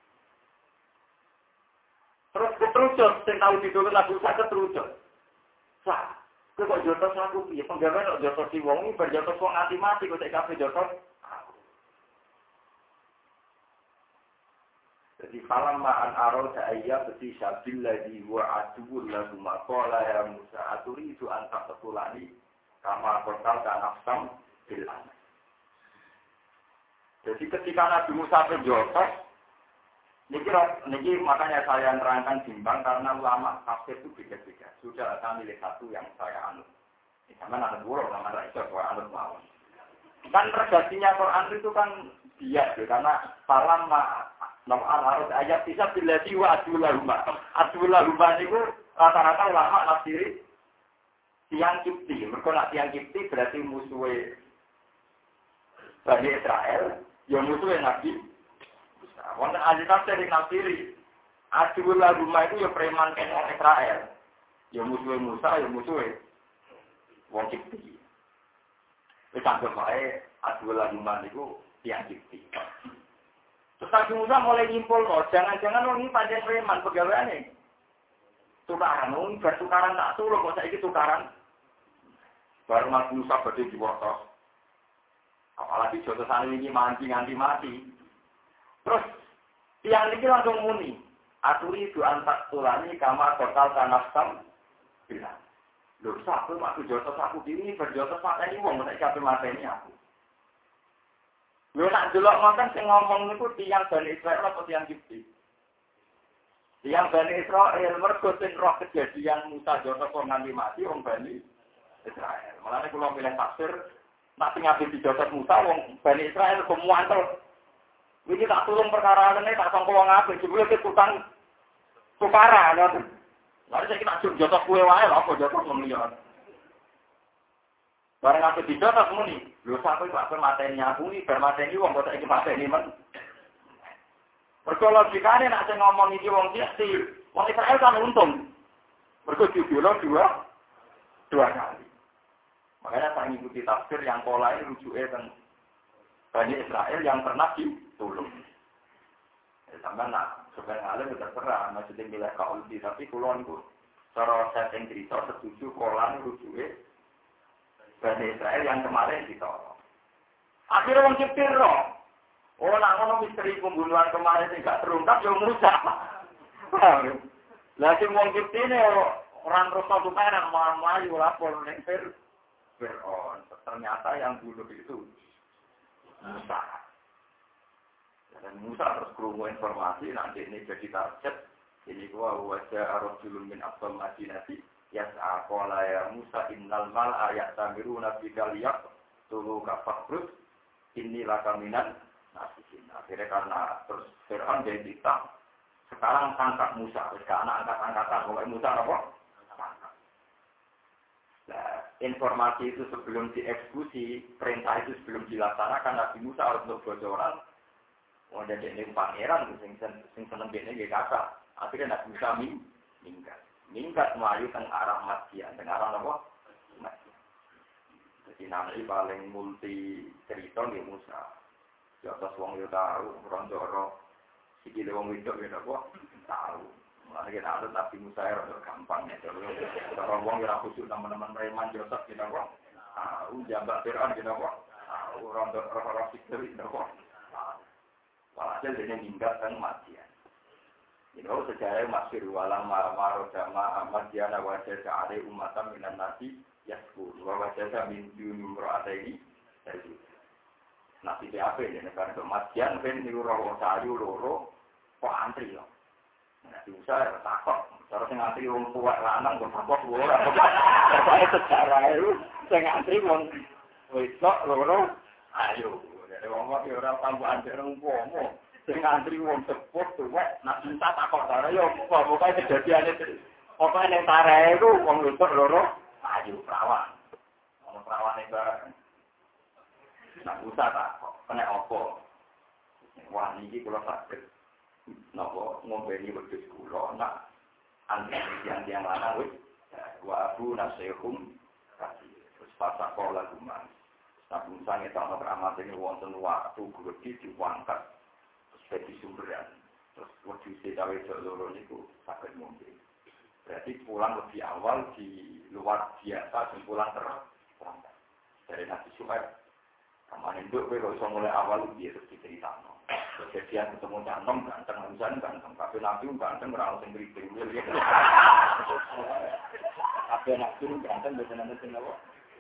Terus keterucut sing tau ditulung Nabi Musa keterucut. Sah, kok jotos aku piye? Penggawean kok jotos si wong iki berjotos wong ati mati kok tek kabeh jotos. Jadi falam ma'an arau ta'ayya beti syabilladhi wa aduul lagu maqala ya Musa aturi itu antak petulani kama kotal kanafsam bilan. Jadi ketika Nabi Musa berjotos, niki, niki makanya saya nerangkan bimbang karena ulama tafsir itu beda-beda. Sudah saya milih satu yang saya anut. Ini sama anut buruk, sama anut itu anut mawon. Kan redaksinya Quran itu kan bias, karena falam ma'an Namun harus ayat bisa bila jiwa adulah rumah. Adulah rumah itu rata-rata ulama nafsiri tiang Kipti. Mereka nak tiang Kipti berarti musuhnya Bani Israel, ya musuhnya Nabi Musa. Wonten ahli tafsir yang nafsiri, Adul Lahuma itu ya preman kena Israel. Ya musuhnya Musa, ya musuhnya wong Kipti. Wis anggap wae Adul Lahuma itu tiang Kipti. Terus Nabi Musa mulai nyimpul loh, jangan-jangan orang ini pancen preman pegawaiane. Tukaran, wong bertukaran tak suruh kok saiki tukaran. Baru Nabi Musa badhe diwotos. Apalagi jotosan ini manci nganti mati. Terus tiang ini langsung muni. Aturi itu antak tulani kamar total tanasam bilang. Loh, satu aku jotos aku ini berjotos mata ini wong nek kabeh mateni aku. Lho nak delok ngoten sing ngomong niku tiang Bani Israil apa tiang Kipti? Tiang Bani Israil mergo sing roh kejadian Musa jotos kok nganti mati wong Bani Israil. Mulane kula milih tafsir nak sing ngaji dijotos Musa wong Bani Israil kemuantel. Iki tak tulung perkara ngene tak sangka wong apik jebule ke tukang tukaran lho. Lalu saya kira jujur jotos kue wae lho apa jotos ngomong. Bareng aku dijotos muni, lho sampe kok mateni aku iki bar mateni wong kok iki mateni men. Mergo logikane nek sing ngomong iki wong Kipti, wong Israil kan untung. Mergo dibiolo dua dua kali. Makanya saya mengikuti tafsir yang pola ini rujuknya tentang Bani Israel yang pernah ditolong. Ya, sampai nak sebenarnya alim terserah, maksudnya milih kaulti, tapi kulon itu cara setting cerita setuju pola ini rujuknya Bani Israel yang kemarin ditolong. Akhirnya orang Kipti roh. Oh, nak ngono misteri pembunuhan kemarin ini gak terungkap, ya Musa. Lah sing wong Kipti ini orang terus satu perak melayu lapor ning Fir'aun. Ternyata yang bunuh itu Musa. Dan Musa terus kerungu informasi, nanti ini jadi target. Ini gua wajah arrojulun min abdal madinati. Yas'a qala ya Musa innal mal ayat tamiru nabi kaliyak. Tulu kafakrus. Inilah kaminan nasihin. Akhirnya karena terus Fir'aun jadi ditang. Sekarang tangkap Musa. Karena angkat-angkatan. Kalau Musa apa? Nah, informasi itu sebelum dieksekusi, perintah itu sebelum dilaksanakan, Nabi Musa harus untuk bocoran. Oh, dan ini pangeran, sing sing seneng dene nggih kakak. Akhirnya Nabi Musa minggat. Minggat melayu teng arah Madian, teng arah apa? Madian. Jadi nanti paling multi cerita nggih Musa. Ya atas wong yo tahu, rondoro sikile wong wedok ya apa? Tahu. Mulane kita ada Nabi Musa ya rada gampang ya. Kalau wong ora khusyuk teman-teman preman Yosef kita kok. Tahu jambak Fir'aun kita kok. Tahu rondo-rondo sikil kita kok. Walhasil dia minggat dan Madian. Ini sejarah masyhur walang marmar jama Madian wajah sa'ari umatan minan nasi yaskur. Wajah min duni mra'ataini jadi. Nasi D A P ini negara Madian ben niku roh sayu loro kok antri loh. Nabi Musa ya takut, cara sing ngantri wong tuwa lanang kok takut ora. Pokoke sejarah itu sing ngantri wong wedok loro ayo. Dadi wong kok ora tambahan dereng umpama. Sing ngantri wong sepuh tuwa Nabi Musa takut ora yo pokoke kejadiane pokoke ning tarahe iku wong wedok loro ayo perawan. Wong perawane bareng. Nabi Musa takut, kena apa? Wah niki kula sakit. Nopo ngombeni wedhus kula nak antri yang yang lanang wis wa abu nasihum kasih terus pasak pola guman tapi sange tak amat ini wonten waktu gede diangkat terus dadi sumberan terus wedhus cawe loro niku saged ngombe berarti pulang lebih awal di luar biasa dan pulang terlambat dari Nabi Syuaib kemarin itu kalau iso mulai awal dia terus diceritakan kejadian ketemu cantom ganteng misalnya ganteng tapi nabi ganteng orang sing ngriting tapi nabi ganteng biasa nanti sing apa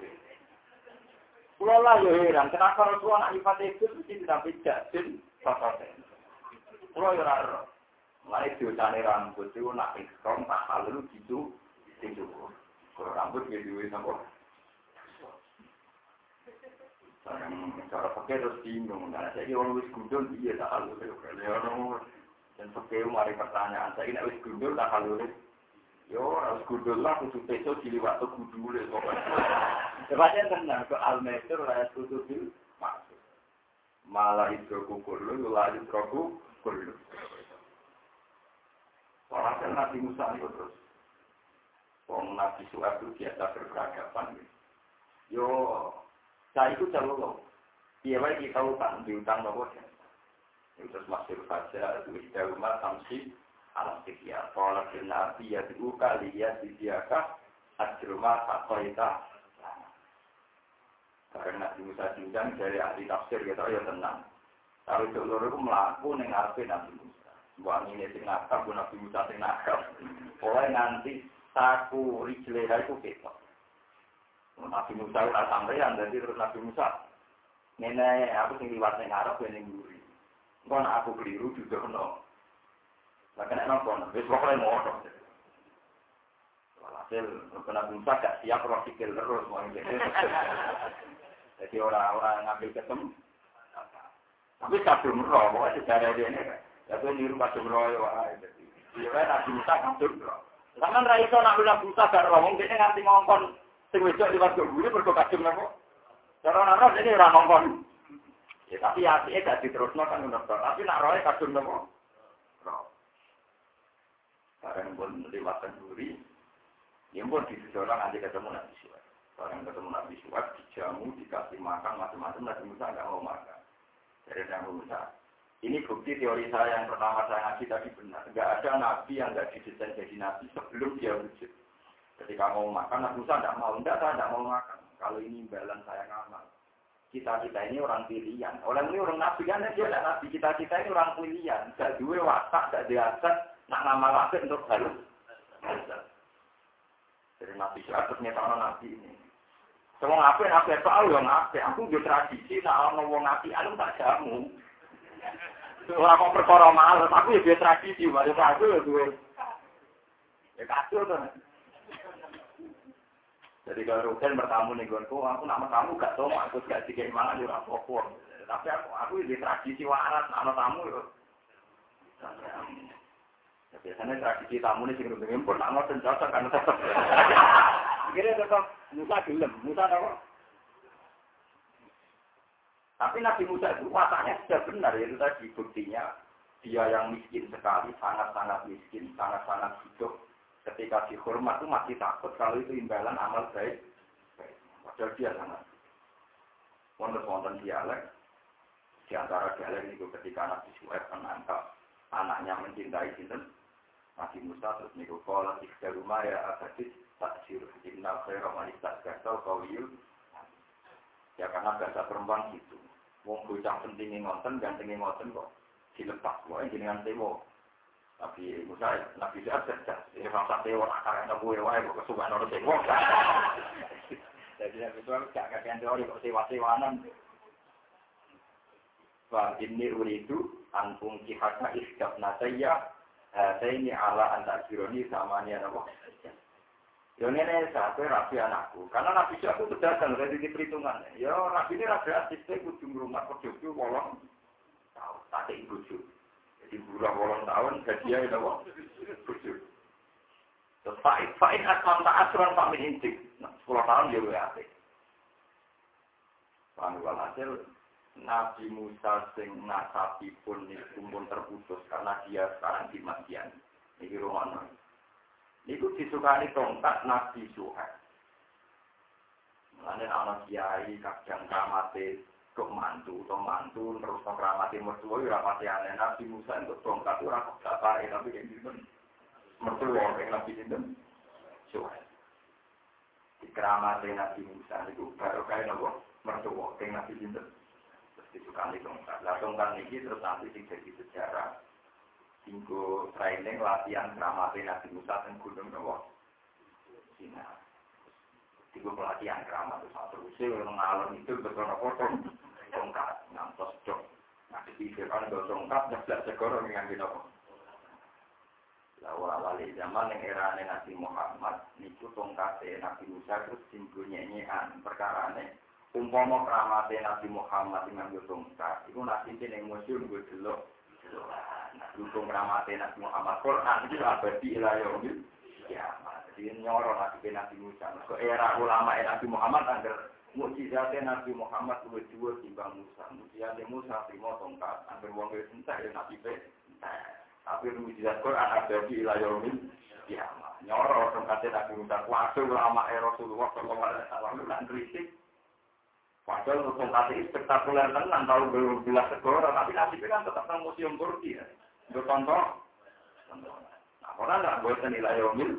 kula lah yo heran kenapa Rasulullah nak nyifat itu mesti sampai jadil papaten kula yo ora mulai diucane rambut itu nak ikram tak halu gitu itu kalau rambut gitu wis apa cara pakai terus bingung, karena saya orang wis gundul dia tak halu orang dan pakai mari pertanyaan saya ini wis gundul tak halu yo harus gundul lah kudu besok di waktu gundul pokoknya. Sebabnya tenang ke al-mesir raya kudu bil maksud. malah idroku kullu la idroku kullu. Orang Nabi Musa itu terus wong Nabi Suhaib itu biasa berperadaban. Yo, saya itu calon. Iya, baik kita utang diutang nopo ya. Itu terus masuk saja itu di rumah samsi alam sekian. Kalau Nabi ya dibuka lihat di diakah ajruma takoita. Karena Nabi Musa diundang dari ahli tafsir kita ya tenang. Kalau itu loro itu melaku ning ngarepe Nabi Musa. Mbok ngene sing nakal bu Nabi Musa sing nakal. Oleh nanti saku rijleha itu ketok. Nabi Musa ora sampeyan dadi terus Nabi Musa. Ngene aku sing liwat ning ngarep ning mburi. Engko nek aku keliru dudono. Lah kena napa? Wis pokoke ngono. Walhasil Nabi Musa gak siap roh sikil terus mau ngene. Jadi orang-orang ngambil ketemu, tapi kadung roh, pokoknya sejarah dia ini, jadi niru kadung roh ya, jadi dia Nabi Musa kadung roh. Karena Raiso Nabi Musa gak roh, mungkin nganti ngongkon, sing wedok liwat ke buri berko kadung roh. Cara roh ini orang ngongkon. Ya tapi hatinya gak diterusno kan menurut tapi nak rohnya kadung roh. Roh. Barang pun liwat ke buri, ya pun di sejarah nanti ketemu Nabi Musa. Orang ketemu Nabi Suhaib dijamu, dikasih makan macam-macam, Nabi Musa nggak mau makan. Jadi Nabi Musa, ini bukti teori saya yang pertama saya ngaji tadi benar. Nggak ada Nabi yang nggak didesain jadi Nabi sebelum dia wujud. Ketika mau makan, Nabi Musa nggak mau, enggak, saya nggak mau makan. Kalau ini imbalan saya ngamal. Kita-kita ini orang pilihan. Orang ini orang Nabi kan, dia tidak Nabi. Kita-kita ini orang pilihan. Gak dua watak, gak diaset, nak ngamal lagi untuk halus. Jadi Nabi Suhaib ternyata Nabi ini. Semua ngapain, aku tahu yang ngapain. Aku juga tradisi, nah orang ngomong ngapain, aku tak jamu. Orang kok perkara males, aku juga tradisi, baru aku ya gue. Ya kasih tuh. Jadi kalau Ruben bertamu nih gue, aku nama tamu gak tau, aku gak dikit mangan juga pokok. Tapi aku, aku juga tradisi waras, nama tamu ya. Ya, biasanya tradisi tamu ini sing rundeng pun nak ngoten jasa kan tetep. Kira tetep Musa gelem, Musa apa? Tapi Nabi Musa itu wataknya sudah benar, itu tadi buktinya dia yang miskin sekali, sangat-sangat miskin, sangat-sangat hidup. Ketika dihormat itu masih takut kalau itu imbalan amal baik. Padahal dia sangat. Wonten-wonten dialek, di antara dialek itu ketika Nabi Suhaib menangkap anaknya mencintai sinten Nabi Musa terus niku kala tiga rumah ya abadis taksir inna khaira man istasqasal qawiyul. Ya karena bahasa perempuan gitu. Wong bocah pentingnya ngonten gantengnya ngonten kok dilepas wae jenengan temo. Tapi Musa Nabi Suhaib cerdas. Ini rasa tewa akarane kuwe wae kok kesukaan ora temo. Jadi Nabi Suhaib gak kakean teori kok sewa-sewanan. Wa inni uridu an fungkihaka istabna saya saya ini ala antak jironi sama ni apa? Yang ini satu rapi anakku. Karena Nabi Suhaib itu datang dari perhitungan. Ya Nabi ini rapi asisnya ujung rumah kerjoku wolong tahun. Tak ada ibu ju. Jadi bulan wolong tahun gajinya itu apa? Buju. Terus Fa'id Fa'id asman tak asuran Pak Mintik. Nah sepuluh tahun dia W A P. Pandual hasil Nabi Musa sing nasabi pun pun terputus karena dia sekarang di Madian. Ini rumah. Itu disukani tongkat Nabi Suhaib. Mulane ana kiai kadang kramate kok mantu, to mantu terus to kramate mertua ora pati aneh. Nabi Musa untuk tongkat ora kok bapake tapi yen dinten mertua nek Nabi dinten Suhaib. Di kramate Nabi Musa itu baru kaya nopo mertua nek Nabi dinten disukani tongkat. Lah tongkat niki terus nanti sing jadi sejarah tinggu training latihan kramate Nabi Musa dan Gunung Nawa Cina. Tinggu pelatihan kramat itu satu usia orang ngalor itu betul-betul tongkat ngantos jok. Nah dipikirkan kalau tongkat nyeblak segoro dengan binomo. Lalu awali zaman yang era Nabi Muhammad itu tongkatnya Nabi Musa terus tinggu nyanyian perkara ini. Umpama kramate Nabi Muhammad dengan tongkat itu Nabi ini yang musuh gue dulu. Dukung ramate Nabi Muhammad Quran itu abadi ila yaumil kiamat. Jadi nyoro Nabi Nabi Musa. Ke era ulama Nabi Muhammad angger Mukjizatnya Nabi Muhammad luwih dhuwur timbang Musa. Mukjizatnya Musa trimo tongkat, angger wong wis entek ya Nabi pe. Tapi mukjizat Quran abadi ila yaumil kiamat. Nyoro tongkate Nabi Musa kuwasul ulama Rasulullah sallallahu alaihi wasallam lan kritik. Padahal tongkate spektakuler tenan tau belas segoro, tapi Nabi kan tetap nang museum Turki ya. Untuk contoh. Nah, ora ndak boten ila yaumil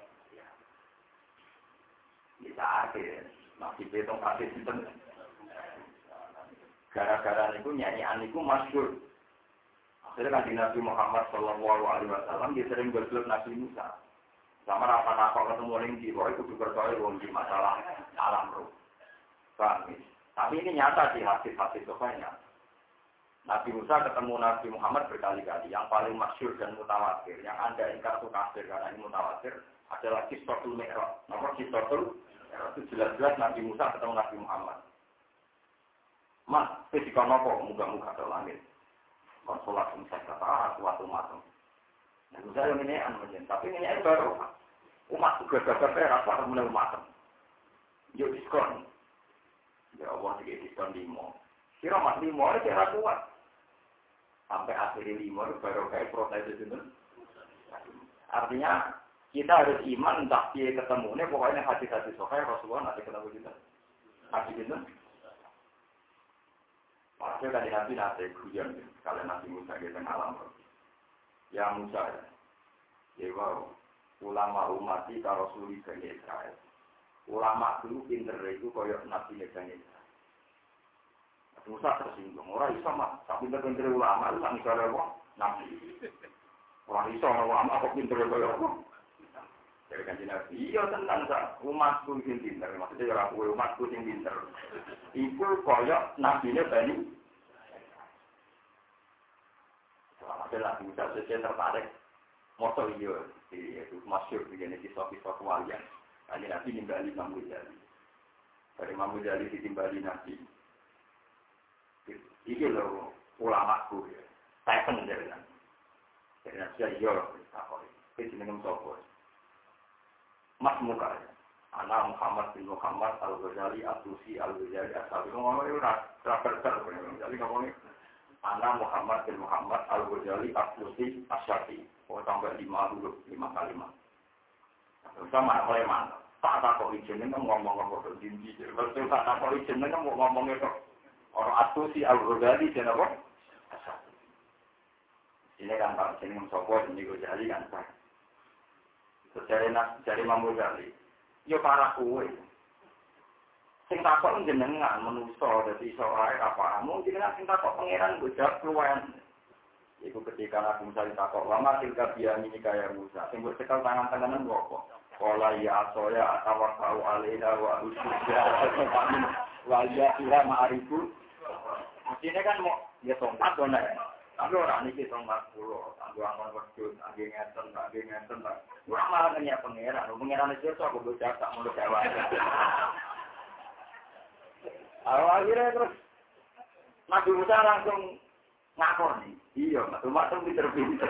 bisa akhir. Masih betong kasih sinten. Gara-gara niku nyanyian niku masyhur. Akhirnya kan Nabi Muhammad sallallahu alaihi wasallam dia sering bergelut Nabi Musa. Sama apa-apa ketemu ning di itu dipercaya wong di masalah alam roh. Paham? Tapi ini nyata di hadis-hadis sahihnya. Nabi Musa ketemu Nabi Muhammad berkali-kali. Yang paling masyhur dan mutawatir, yang Anda ingkar itu kafir karena ini mutawatir, adalah Qissatul Mi'raj. Nomor Qissatul itu jelas-jelas Nabi Musa ketemu Nabi Muhammad. Mas, ketika nopo muka-muka ke langit. Konsolat Musa kata, suatu matem. Nah, Musa yang ini aneh, tapi ini baru. Umat juga gagal perak, apa mulai matem. Yuk diskon. Ya Allah, tiga diskon limo. Kira mas limo, ini kira kuat. Sampai akhirnya limo, baru kayak protes itu. Artinya, kita harus iman entah dia ketemu ini pokoknya hadis-hadis sahih Rasulullah nanti ketemu kita. Hadis itu. Maksudnya tadi Nabi nanti hujan kalau Nabi Musa kita alam. Ya Musa ya. Ya wow. Ulama umat kita Rasulullah dari Israel. Ulama dulu pinter itu koyok Nabi dari Israel. Musa tersinggung. Orang iso mah tak pinter-pinter ulama itu tak misalnya apa? Nabi. Orang iso ulama kok pinter koyok apa? Dari kanjeng Nabi, iya tenang sak, umatku sing pinter, maksudnya ora kowe umatku sing pinter. Iku koyo nabine Bani. Soalnya Nabi Musa sejen tertarik, moto iya, itu masyhur begini kisah-kisah kewalian. Kanjeng Nabi nimbali Imam Ghazali. Dari Imam Ghazali ditimbali Nabi. Iki lho ulamaku ya. Saya pengen kan. Jadi Nabi iya, tak kok. Iki jenenge sapa? Mas muka ya. Anak Muhammad bin Muhammad Al-Ghazali Al-Tusi Al-Ghazali Al-Sabi ngomong itu rapat-rapat jadi ngomongnya anak Muhammad bin Muhammad Al-Ghazali Al-Tusi Al-Syafi oh sampai lima dulu lima kalimat sama oleh mana tak tak kok izinnya kan ngomong-ngomong ke jinji kalau tak tak kok izinnya kan ngomongnya kok orang Al-Tusi Al-Ghazali dan apa Al-Syafi ini kan Pak ini mencoba ini Ghazali kan tak Dari nak dari Imam Ghazali, yo para kue. Sing takok jenengan menuso dadi iso ae apa? Mungkin nek sing takok pangeran go jawab keluwen. Iku ketika Nabi Musa ditakok, "Lama tilka biami kaya Musa." Sing mbok cekal tangan-tanganan kok. Qala ya asoya atawakkau alaina wa usyya. Wa ya ila ma'rifu. Mestine kan mau ya tongkat to nek. Tapi orang ini kita nggak perlu, aku akan berdua, aku ngeten, aku ngeten, orang malah nanya pangeran, pangeran itu aku berjasa mulut dewa. Akhirnya terus Nabi Musa langsung ngakor nih, iya, macam-macam pinter-pinter.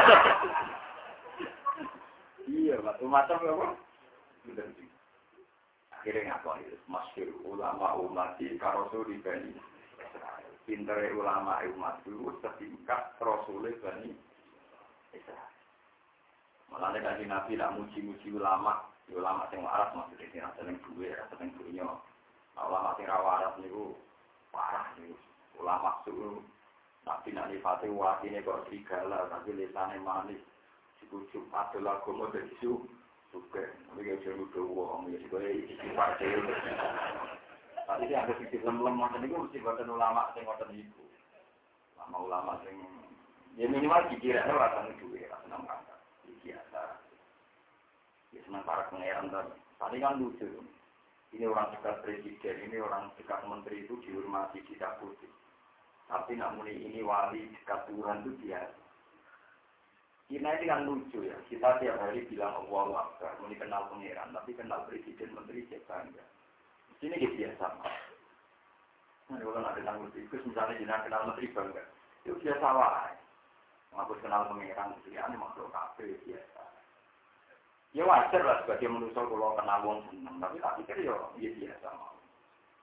Iya, macam-macam apa? Pinter-pinter. Akhirnya ngakor itu, masyhur ulama umat di Karosuri Bani. Pinter ulama umat dulu setingkat Rasulullah Bani Israel. Malah dari Nabi tak muji-muji ulama, ulama yang waras maksudnya tidak seneng duwe, seneng dunia. Ulama yang waras itu parah itu. Ulama itu Nabi nak nifati watine kok serigala, tapi lesane manis. Sikucup adalah gomo dari su, suka. Tapi kalau jauh jauh wong, ya sih isi partai. Tapi dia ada sedikit lem-lem macam itu mesti buatan ulama yang buatan itu. Ulama-ulama yang ya minimal dikira rasanya duit, rasanya mengangkat. Biasa. Ya sementara pengeran tadi. Tadi kan lucu. Ini orang dekat presiden, ini orang dekat menteri itu dihormati, ditakuti. Tapi namun ini wali dekat Tuhan itu biasa. Kita ini kan lucu ya. Kita tiap hari bilang Allahu Akbar, ini kenal pengeran, tapi kenal presiden menteri siapa enggak. Ini dia biasa. Nah, kalau ada tanggung tikus, misalnya jenah kenal menteri bangga, itu biasa lah. Mengaku kenal pengeran, ini makhluk kafe biasa. Ya wajar lah sebagai manusia kalau kenal wong seneng, tapi tak pikir ya dia biasa mau.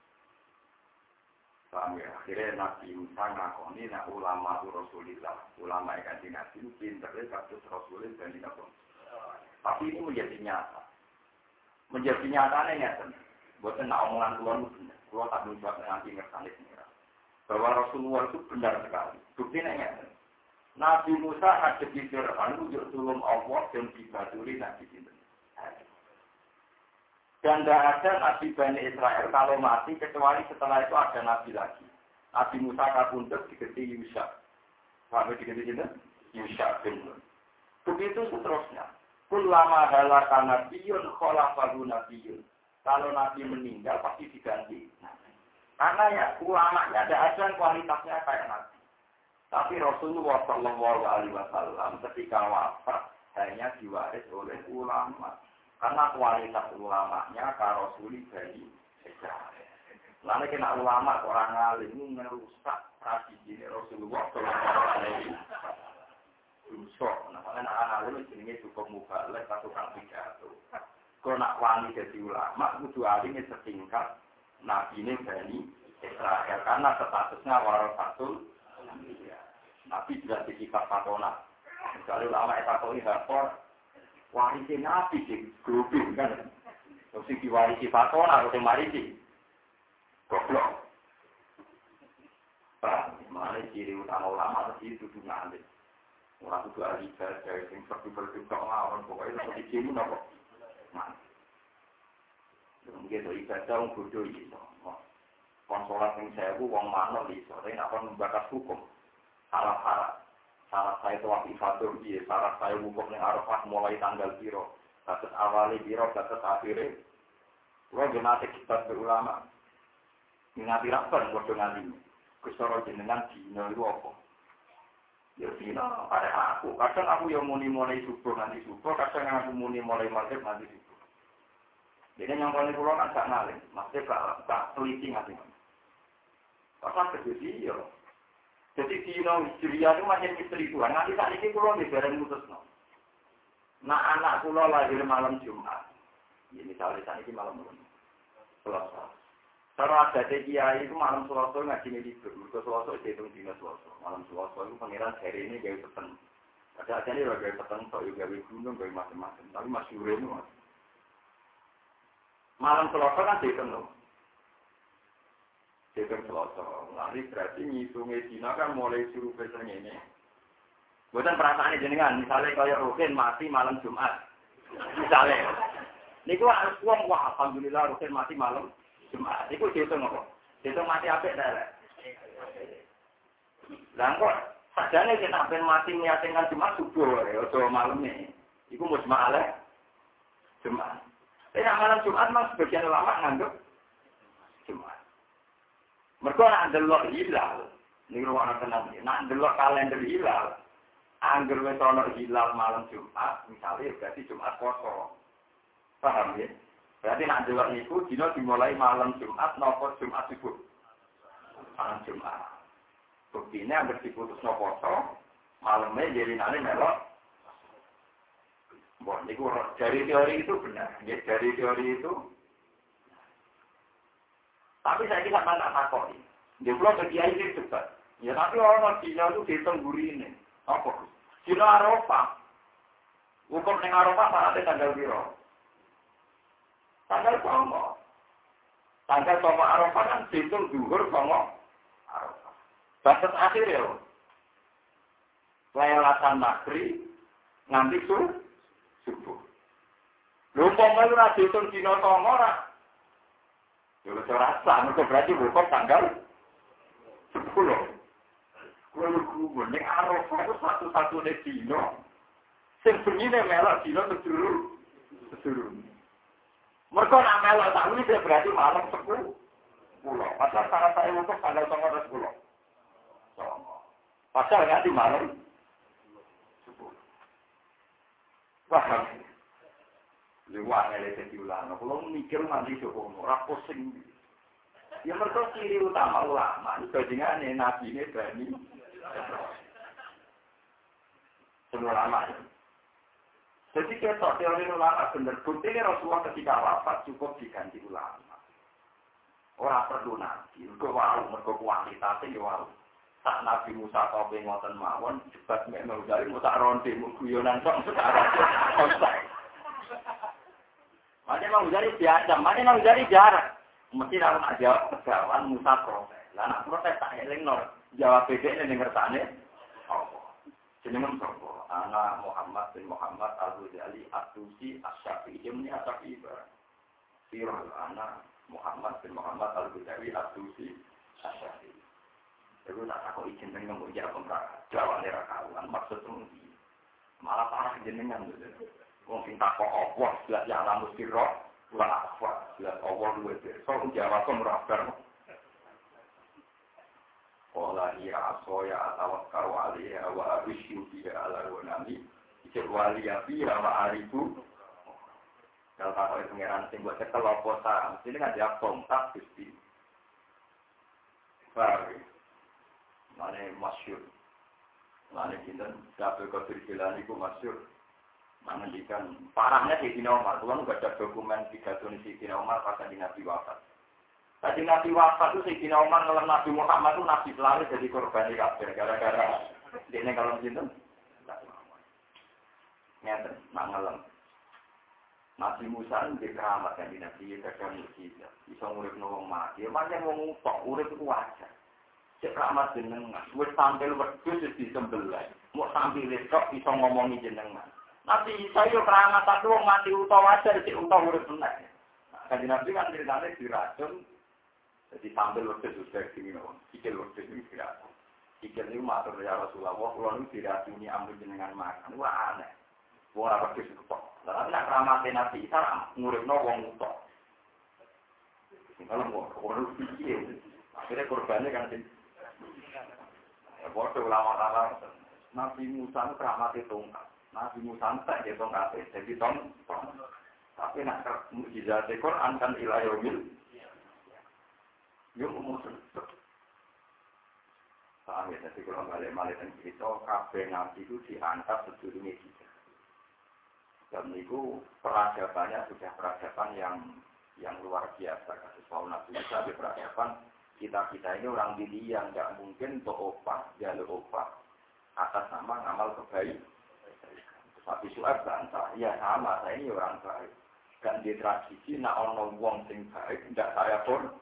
Paham ya? Akhirnya Nabi Musa ngakoni nak ulama Rasulullah, ulama yang kanjeng Nabi itu pinternya kasus Rasulullah dan Nabi. Tapi itu menjadi nyata. Menjadi nyatanya nyata. Bukan nak omongan keluar benar. Keluar tak menjawab nanti ngerti ini. Bahwa Rasulullah itu benar sekali. Buktinya nyata. Nabi Musa ada di Fir'aun untuk tulung Allah dan dibaturi Nabi itu. Dan tidak ada Nabi Bani Israel kalau mati kecuali setelah itu ada Nabi lagi. Nabi Musa kabundut diganti Yusha. Sampai diganti itu Yusha bin Nun. Begitu seterusnya. Kulama halaka nabiyun kholafahu nabiyun. Kalau Nabi meninggal pasti diganti. Karena ya ulamanya ada ada kualitasnya kayak Nabi. Tapi Rasulullah Shallallahu Alaihi Wasallam ketika wafat hanya diwaris oleh ulama. Karena kualitas ulamanya kalau Rasuli dari Israel. Lalu kena ulama orang alim merusak tradisi Rasulullah Shallallahu Alaihi Wasallam. Rusuk, nah anak alim jenenge cukup mubalek atau tukang pidato. Kalau nak wani jadi ulama, kudu alim setingkat Nabi ini dari Israel karena statusnya warasatul Nabi sudah disifat patona. Misalnya ulama etakoni hafal warisi Nabi sih, grupin kan. Terus diwarisi patona atau marisi. Goblok. Pak, mana ciri utama ulama tadi itu tuh nanti. Orang itu ahli ibadah, yang seperti-seperti kok ngawon, pokoknya seperti ciri apa? Nah. Mungkin itu ibadah, orang bodoh itu. Konsolat yang saya bu, orang mana itu. Tapi nak akan membakas hukum. Salah-salah. Salah saya itu wakil fatur dia. Salah saya hukum yang Arafah mulai tanggal biro. Batas awalnya biro, batas akhirnya. Kalau jenazah kita berulama. Ngati rapan, bodoh ngantinya. Kesoro jenengan dino itu apa? Ya dino, pada aku. Kadang aku yang muni mulai subuh nanti subuh. Kadang aku muni mulai maghrib nanti subuh. Jadi yang paling pulau kan gak ngalim. Maksudnya gak, gak teliti nganti. Pasal kejadi ya. Jadi dino Hijriah itu macam istri Tuhan. Nanti saat ini pulau di bareng mutus no. Nah anak pulau lahir malam Jumat. Ya misalnya saat ini malam malam. Selasa. Kalau ada kiai itu malam Selasa ngaji libur. Mereka Selasa itu hitung dino Selasa. Malam Selasa itu pengiran hari ini gawe peteng. Ada aja nih gawe peteng, so gawe gunung, gawe macam-macam. Tapi masih urem mas. Malam Selasa kan dihitung loh. Dihitung Selasa. Nanti berarti ngitungnya dino kan mulai suruh besarnya ini. Bukan perasaan jenengan. Misalnya kayak Rukin mati malam Jumat. Misalnya. Ini gua harus uang wah. Alhamdulillah Rukin mati malam Jumat. Itu dihitung apa? Dihitung mati apa dah? Lah kok sajane kita ben mati niatkan Jumat subuh ya atau malamnya. Iku musmalah Jumat. Tapi malam Jumat mas sebagian ulama nganggep Jumat. Mergo nak delok hilal, niku ana tenan. Nak delok kalender hilal, angger wis ana hilal malam Jumat, misalnya berarti Jumat poso. Paham ya? Berarti nak delok niku dina dimulai malam Jumat napa Jumat subuh. Malam Jumat. Buktinya hampir diputus poso, malamnya jadi nanti melok. Bon, niku dari teori itu benar. Ya, dari teori itu. Tapi saya kira tak takut. Dia pulang ke kiai itu cepat. Ya tapi orang Cina itu dihitung gurih ini. Apa? Cina Arafah. Hukum dengan Arafah mana tanggal biru? Tanggal sama. Tanggal sama Arafah kan dihitung duhur sama Arafah. Batas akhir ya. Lailatan maghrib nganti subuh. Subuh. Lumpang kalau nak dihitung Cina sama orang. Ya saya rasa, mereka berarti hukum tanggal sepuluh. Kalau hukum, yang Arafah itu satu-satunya Cina. Sebenarnya melak Cina seluruh. Seluruh. Mereka nak melak tak ini berarti malam sepuluh. Pasal cara saya hukum tanggal sepuluh. Pasal nanti malam sepuluh. Wah, lewat nilai ulama. Kalau mikir nanti coba orang pusing. Ya mereka ciri utama ulama. Bajingan nabi ini berani. Semua ulama. Jadi kita teori ulama benar. Buktinya Rasulullah ketika wafat cukup diganti ulama. Ora perlu nabi, mergo wau, mergo kuantitate yo wau. Tak Nabi Musa tope ngoten mawon, jebat mek Mauzali Musa ronde mung guyonan tok sekarang. Mane Mauzali biasa, mane Mauzali jarang. Mesti ora nak jawab pegawan Musa protes. Lah nak protes tak elingno, jawab bedene ning ngersane. Apa? Jenengan sapa? Ana Muhammad bin Muhammad Al-Ghazali At-Tusi Asy-Syafi'i ini Asy-Syafi'i. Sirah ana Muhammad bin Muhammad Al-Ghazali At-Tusi Asy-Syafi'i. Itu tak takut izin dengan mengujar kontrak. Jawa nera kawan maksudnya malah parah jenengan. Wong sing takok Allah, jelas ya alam sirah, la apa, jelas Allah luwe so Jawa kok merabar. Qala ya asoya atawakkal alaiha wa absyu biha ala wanami. Iki wali api wa arifu. Kalau takok pengeran sing buat cekel apa ta, mesti kan dia kontak Gusti. Baik. Mane masyhur. Mane kinten Abdul Qadir Jilani ku masyhur. Mengendikan parahnya Sayyidina Umar, tuan baca dokumen pidato Sayyidina Umar pas Nabi wafat. Tadi Nabi wafat itu Sayyidina Umar ngelam Nabi Muhammad itu Nabi selalu jadi korban kafir gara-gara dene kalau kinten. Ngeten, nak ngelam. Nabi Musa itu keramat kan Nabi kadang mukjizat. Bisa nguripno wong mati, pancen wong tok urip ku wajar. Cek ramat jenengan, wis tampil wedhus wis disembelih. Mok tampil tok iso ngomongi jenengan. Nabi Isa yo keramat tak wong mati utawa wajar cek utawa urip meneh. Kanjeng Nabi kan ceritane diracun. Jadi tampil wedhus wis dadi ngono. Sikil wedhus iki diracun. Sikil niku matur ya Rasulullah, kula niku diracuni ambu jenengan makan. Wah aneh. Wong ora wedhus tok. Lah nek keramat Nabi Isa nguripno wong tok. Kalau mau orang pikir, akhirnya korbannya kan bodoh ulama-ulama. Nabi Musa itu keramat tongkat. Nabi Musa tak dia tongkat. Jadi tong, tapi nak mukjizat Quran kan ilayomil. Yo musuh. Paham ya? Jadi kalau balik-balik dan cerita, kabeh Nabi itu diangkat sedurunge kita. Dan itu peradabannya sudah peradaban yang yang luar biasa. Kasus Nabi Musa di peradaban. Kita-kita ini orang diri yang tidak mungkin beropak, jalur opak atas nama amal kebaikan. Tapi Syuaib bantah, ya sama, saya ini orang baik. Dan di tradisi, nak orang wong sing baik, tidak saya pun.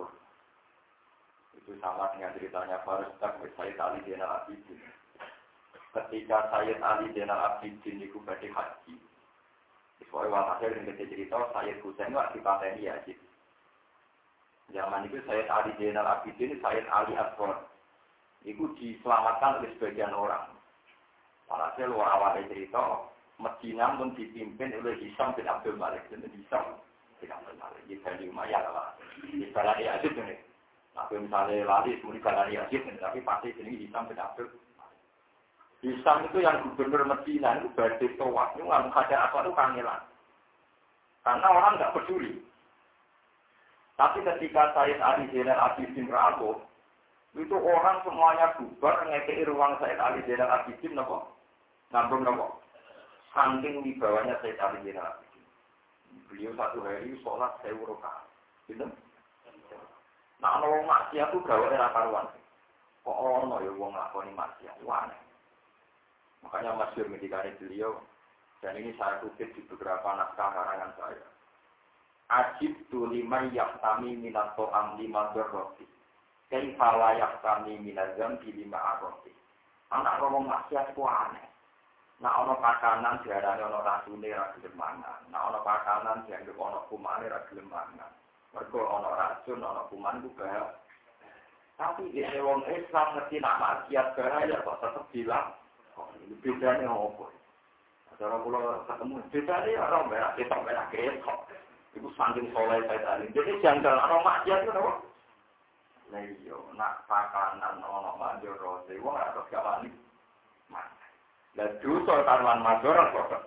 Itu sama dengan ceritanya Farus Sayyid Ali Zainal Abidin. Ketika Sayyid Ali Zainal Abidin itu berarti haji. Soalnya waktu saya dengan cerita, Sayyid Husain itu dipateni Yazid. Zaman itu Sayyid Ali Zainal Abidin, Sayyid Ali Akbar. Itu diselamatkan oleh sebagian orang. Walhasil awal cerita, Medina pun dipimpin oleh Hisam bin Abdul Malik. Jadi Hisam bin Abdul Malik. Di Bani Umayyah lah. Di Balani Yazid ini. Tapi misalnya lari, kemudian Balani Yazid ini. Tapi pasti ini Hisam bin Abdul Malik. Hisam itu yang gubernur Medina itu badai tawaf. Itu nggak menghajar apa itu kangelan. Karena orang nggak peduli. Tapi ketika Sayyid Ali Zainal Abidin rapuh, itu orang semuanya bubar ngekei ruang Sayyid Ali Zainal Abidin, nopo, ngambung nopo, saking wibawanya Sayyid Ali Zainal Abidin. Beliau satu hari sholat sewu rakaat, gitu. Nah, orang maksiat itu gawe era karuan. Kok orang ya wong lakoni maksiat, aneh. Makanya masyhur ketika beliau, dan ini saya kutip di beberapa naskah karangan saya. Ajib tu lima yaktami minato am lima berroti. Kaifala yaktami minazam di lima arroti. Anak ngomong maksiat ku aneh. Nah ono pakanan diarani ono rasune ra gelem mangan. Nah ono pakanan dianggep ono kumane ra gelem mangan. Mergo ono racun ono kuman ku bahaya. Tapi dene wong Islam ngerti nak maksiat bahaya kok tetep bilang kok bedane opo. Cara kula ketemu bedane ora merah ketok merah ketok. Ibu saking soleh saya tadi. Jadi jangan orang maksiat itu apa? Nah iya, nak pakanan orang major roti, wong atau kawan ini. Nah dosa taruhan major kok.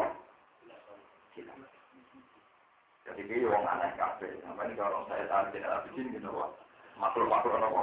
Jadi dia wong aneh kafe. Namanya kalau saya tadi tidak habis gitu kok. Makhluk-makhluk apa?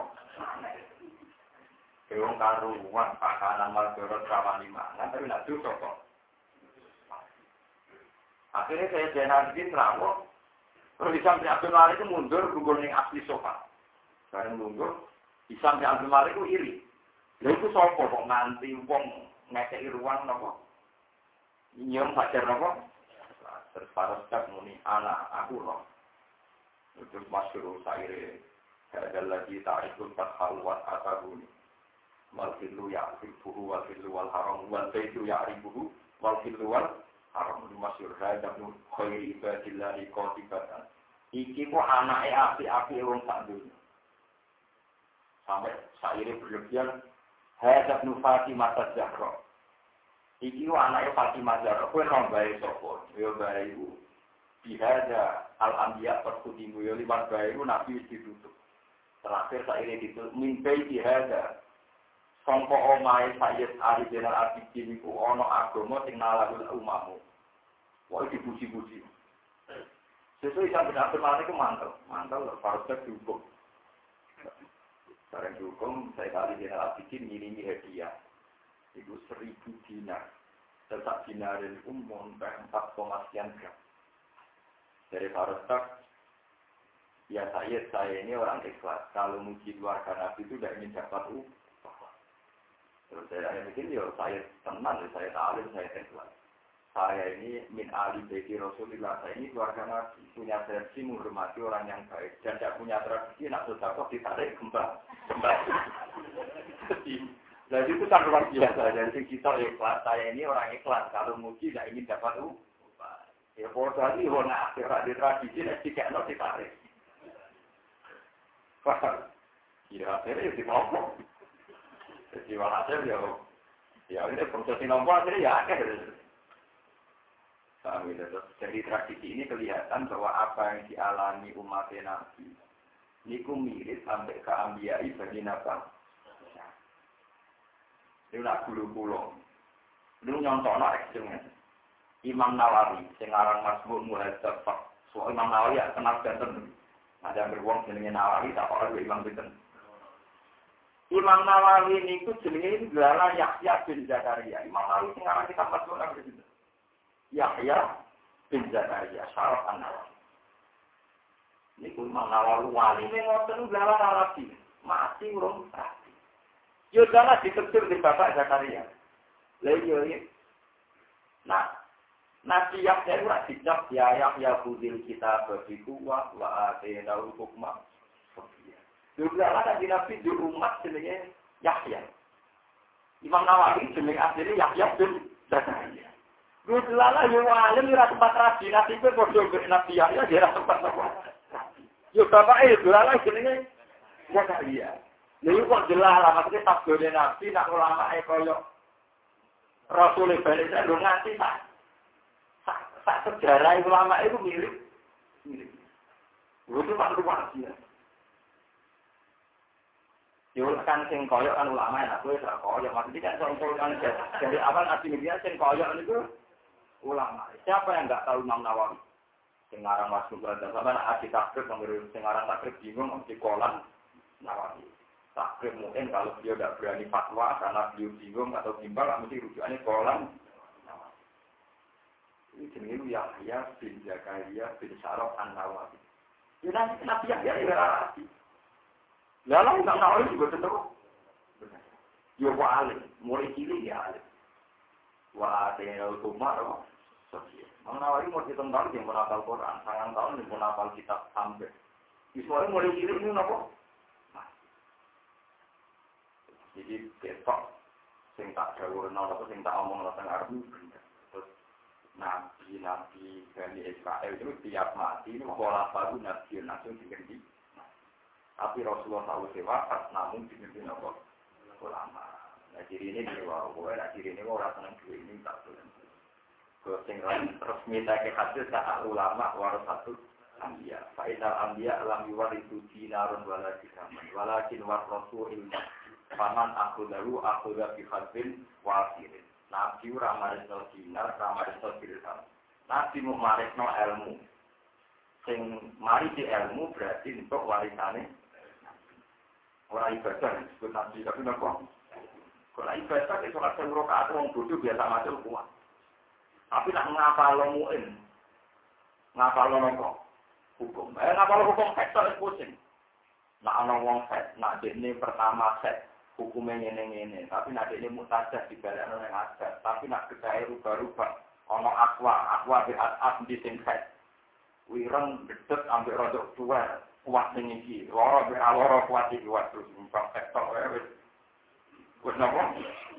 Wong karuan pakanan major kawan lima. Nah tapi nak dosa kok. Akhirnya saya jenazah rawuh. Terus Isam bin Abdul Malik itu mundur nunggu ning asli sofa. Bareng mundur, Isam bin Abdul Malik itu iri. Lha iku sapa kok nganti wong ngekeki ruang napa? Nyong pacar napa? Terus para staf muni anak aku loh. Terus masyhur saire ada lagi ta'rifun takhawat atahuni. Wal filu ya'rifuhu wal filu wal haram wal filu ya'rifuhu wal filu wal haram. Masyhur ada nu khairi ibadillahi qatibatan. Iki kok anake api-api wong sak dunya. Sampai saire berlebihan Hadap nu Fatimah Zahra. Iki ku anake Fatimah Zahra. Kowe ora bae sapa? Ya bae iku. Bihada al-anbiya perkudimu ya liwat bae iku nabi wis ditutup. Terakhir saire ditutup mimpi bihada. Sangka omahe Sayyid Ali bin Al-Abidin iku ana agama sing nalakul umamu. Wae dipuji-puji. Sesuk sampe Abdul Malik ku mantel, mantel partek dihukum. Barang dihukum, saya kali di Al-Abidin ngiringi hadiah. Itu seribu dinar. Tetap dinarin umum empat koma sekian gram. Dari Farostak, ya saya, saya ini orang ikhlas. Kalau muji keluarga Nabi itu tidak ingin dapat upah. Terus saya bikin, ya saya tenang, saya tahu, saya ikhlas. Saya ini min ali baiti Rasulullah. Saya ini keluarga Nabi. Punya tradisi menghormati orang yang baik. Dan tidak punya tradisi, nak sedekah ditarik kembang. Jadi itu kan luar biasa. Jadi kita ikhlas. Saya ini orang ikhlas. Kalau muji tidak ingin dapat upah. Ya kalau tadi warna akhirat di tradisi nanti kayak no ditarik. Wah, kira akhirnya ya dipokok. Jadi walhasil ya, ya ini proses nomor akhirnya ya akhirnya. Dari tradisi ini kelihatan bahwa apa yang dialami umat Nabi ini mirip sampai ke Ambiyai bagi Nabi. Ini nak bulu-bulu. Ini nyontohnya ekstremnya. Imam Nawawi, sekarang Masbuk Muhadzab. So Imam Nawawi ya kenal banten. Ada beruang jenenge Nawawi, tak apa Imam Binten. Imam Nawawi ini itu jenenge gelar Yahya bin Zakaria. Imam Nawawi sekarang kita Masbuk Nabi Binten. Yahya bin Zakaria, Syaraf An-Nawawi. Ini pun Imam Nawawi wali ngoten gelar Arabi. Mati urung mati. Yo dalah ditegur di Bapak Zakaria. Lah yo iki. Nah, Nabi Yahya ora dicap ya Yahya budil kita begitu wa wa atena hukma. Juga ada di Nabi di umat jenenge Yahya. Imam Nawawi jenenge asline Yahya bin Zakaria. Gus lala yo alim ora tempat rabi Nabi itu padha mbek Nabi Yahya ora tempat apa. Yo bapake lala jenenge Zakaria. Lha kok jelas lah maksudnya tabone Nabi nak ulama e koyo Rasul balik saya lho nganti tak tak sejarah ulama itu mirip mirip. Itu tak luar biasa. Yo kan sing koyo kan ulama ya aku ora koyo maksudnya kan contoh kan dari awal Nabi Muhammad sing koyo niku ulama. Siapa yang enggak tahu Imam Nawawi? Sing aran masuk berada sama anak takrib mengirim sing aran takrib bingung mesti kolan Nawawi. Takrib mungkin kalau dia tidak berani fatwa karena beliau bingung atau bimbang, mesti rujukannya kolam. Ini jenis Yahya bin Zakaria bin Syaraf An-Nawawi. Ya nanti Nabi Yahya ya rapi. Lalu Imam Nawawi juga tetap. Ya wali, mulai cilik ya alim. Wah, tinggal kumar, Imam Nawawi mau ditentang yang menapal Quran, sangat tahun yang menapal kitab sampai. Ismail mulai cilik ini apa? Jadi besok, sing tak jauh renal atau sing tak omong tentang Arab terus nabi-nabi Bani Israel itu tiap mati ini pola baru nabi langsung diganti. Tapi Rasulullah tahu sewafat namun diganti apa ulama. Nah ciri ini dia wah, nah ciri ini orang senang dua ini tak boleh. Kalau sing resmi tak hadis tak ulama waras satu ambia. Faidal ambia alam yuwaridu dinarun wala dirhaman walakin war rasul ilmu. Paman aku dulu aku dah bihadin wasirin. Nabi ramarisno dinar, ramarisno dirham. Nabi mau marisno ilmu. Sing mari di ilmu berarti untuk warisane. Orang ibadah disebut Nabi tapi nopo. Kalau ibadah itu kan seluruh kata orang bodoh biasa macam kuat. Tapi nak ngapal muin, ngapal nopo. hukum. Eh ngapal hukum haid tok pusing. Nak ana wong haid, nak dekne pertama haid hukumnya ngene-ngene, tapi nak dekne mutajah dibalekno ning adat, tapi nak kedae rubah-rubah ana akwa, akwa bi at di sing haid. Wireng gedhet ambek rodok tuwa, kuat ning iki. Lara bi lara kuat iki waktu numpak haid tok wis. Wis napa?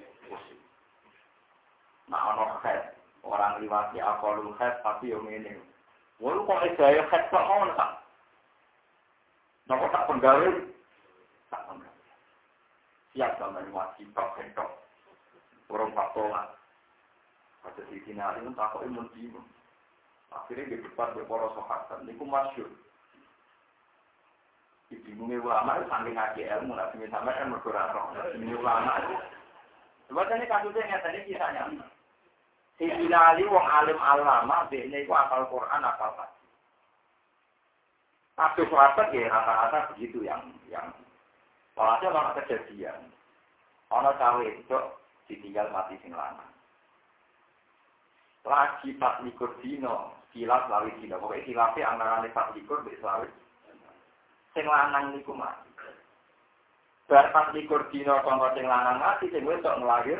Nak ana haid, orang liwati akalul haid tapi yo ngene. Wong kok edaya haid kok ngono ta? Napa tak penggawe? Tak penggawe. Siap sampeyan wajib tak entok. Orang patola. Pada di kinari pun takoke mun dino. Akhirnya di depan para sahabat niku masyhur. Ibingunge ulama itu saking ngaji ilmu nek sing sampeyan mergo ora roh. Ini ulama itu. Sebabnya kasusnya ngeten iki kisahnya. Si Bilali wong alim alama dene iku hafal Quran hafal hadis. Kasus sahabat ya rata-rata begitu yang yang walhasil ana kejadian. Ana cawe itu ditinggal mati sing lanang. Lagi pas likur dino, kilap lawi dino. Pokoknya kilapnya antara pas likur mbek lawi. Sing lanang niku mati. Bar pas likur dino kanggo sing lanang mati sing wis tok nglahir.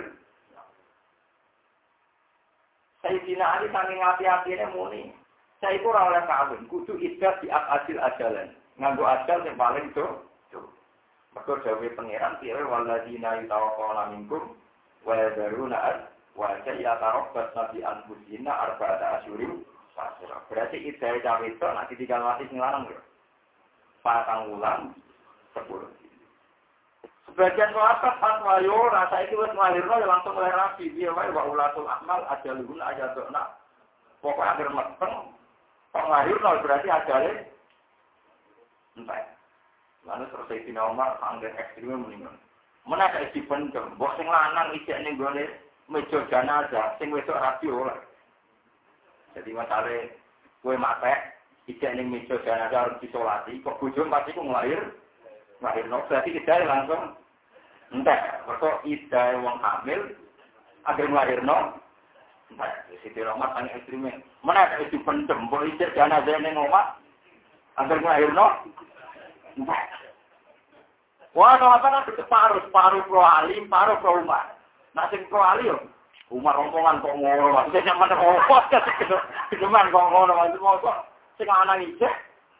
Sayyidina Ali saking hati-hatine muni. Saya itu ora oleh kawin, kudu iddah di akadil ajalan. Nganggo ajal yang paling do. Mergo dawuhe pangeran piye waladina yatawaffawna minkum wa yadharuna ad wa yatarabbasna bi anfusina arba'ata asyurin fasira. Berarti iddah cawe itu nek ditinggal mati sing lanang lho. Patang wulan sepuluh. Sebagian sahabat fatwa yo rasa iki wis nglahirno ya langsung mulai rapi piye wae wa ulatul ahmal ajalun ajadna. Pokoke akhir meteng kok nglahirno berarti ajale entek. Lalu selesai Sina Umar anggen ekstreme mendingan. Mana kayak dipendem, mbok sing lanang ijek ning gone meja jenazah, sing wedok rapi oleh. Jadi masale kowe matek ijek ning meja jenazah harus disolati, kok bojo pasti ku nglahir. Nglahirno berarti idae langsung entek. Mergo idae wong hamil agar nglahirno entek. Siti Umar anggen ekstreme. Mana kayak dipendem, mbok ijek jenazah ning omah agar nglahirno entek. Wah, no apa nak separuh, separuh pro alim, separuh pro Umar. Nak sing pro alim, Umar omongan kok ngono, maksudnya mana kok kasih kedeman kok ngono, maksudnya kok sing ana ijek.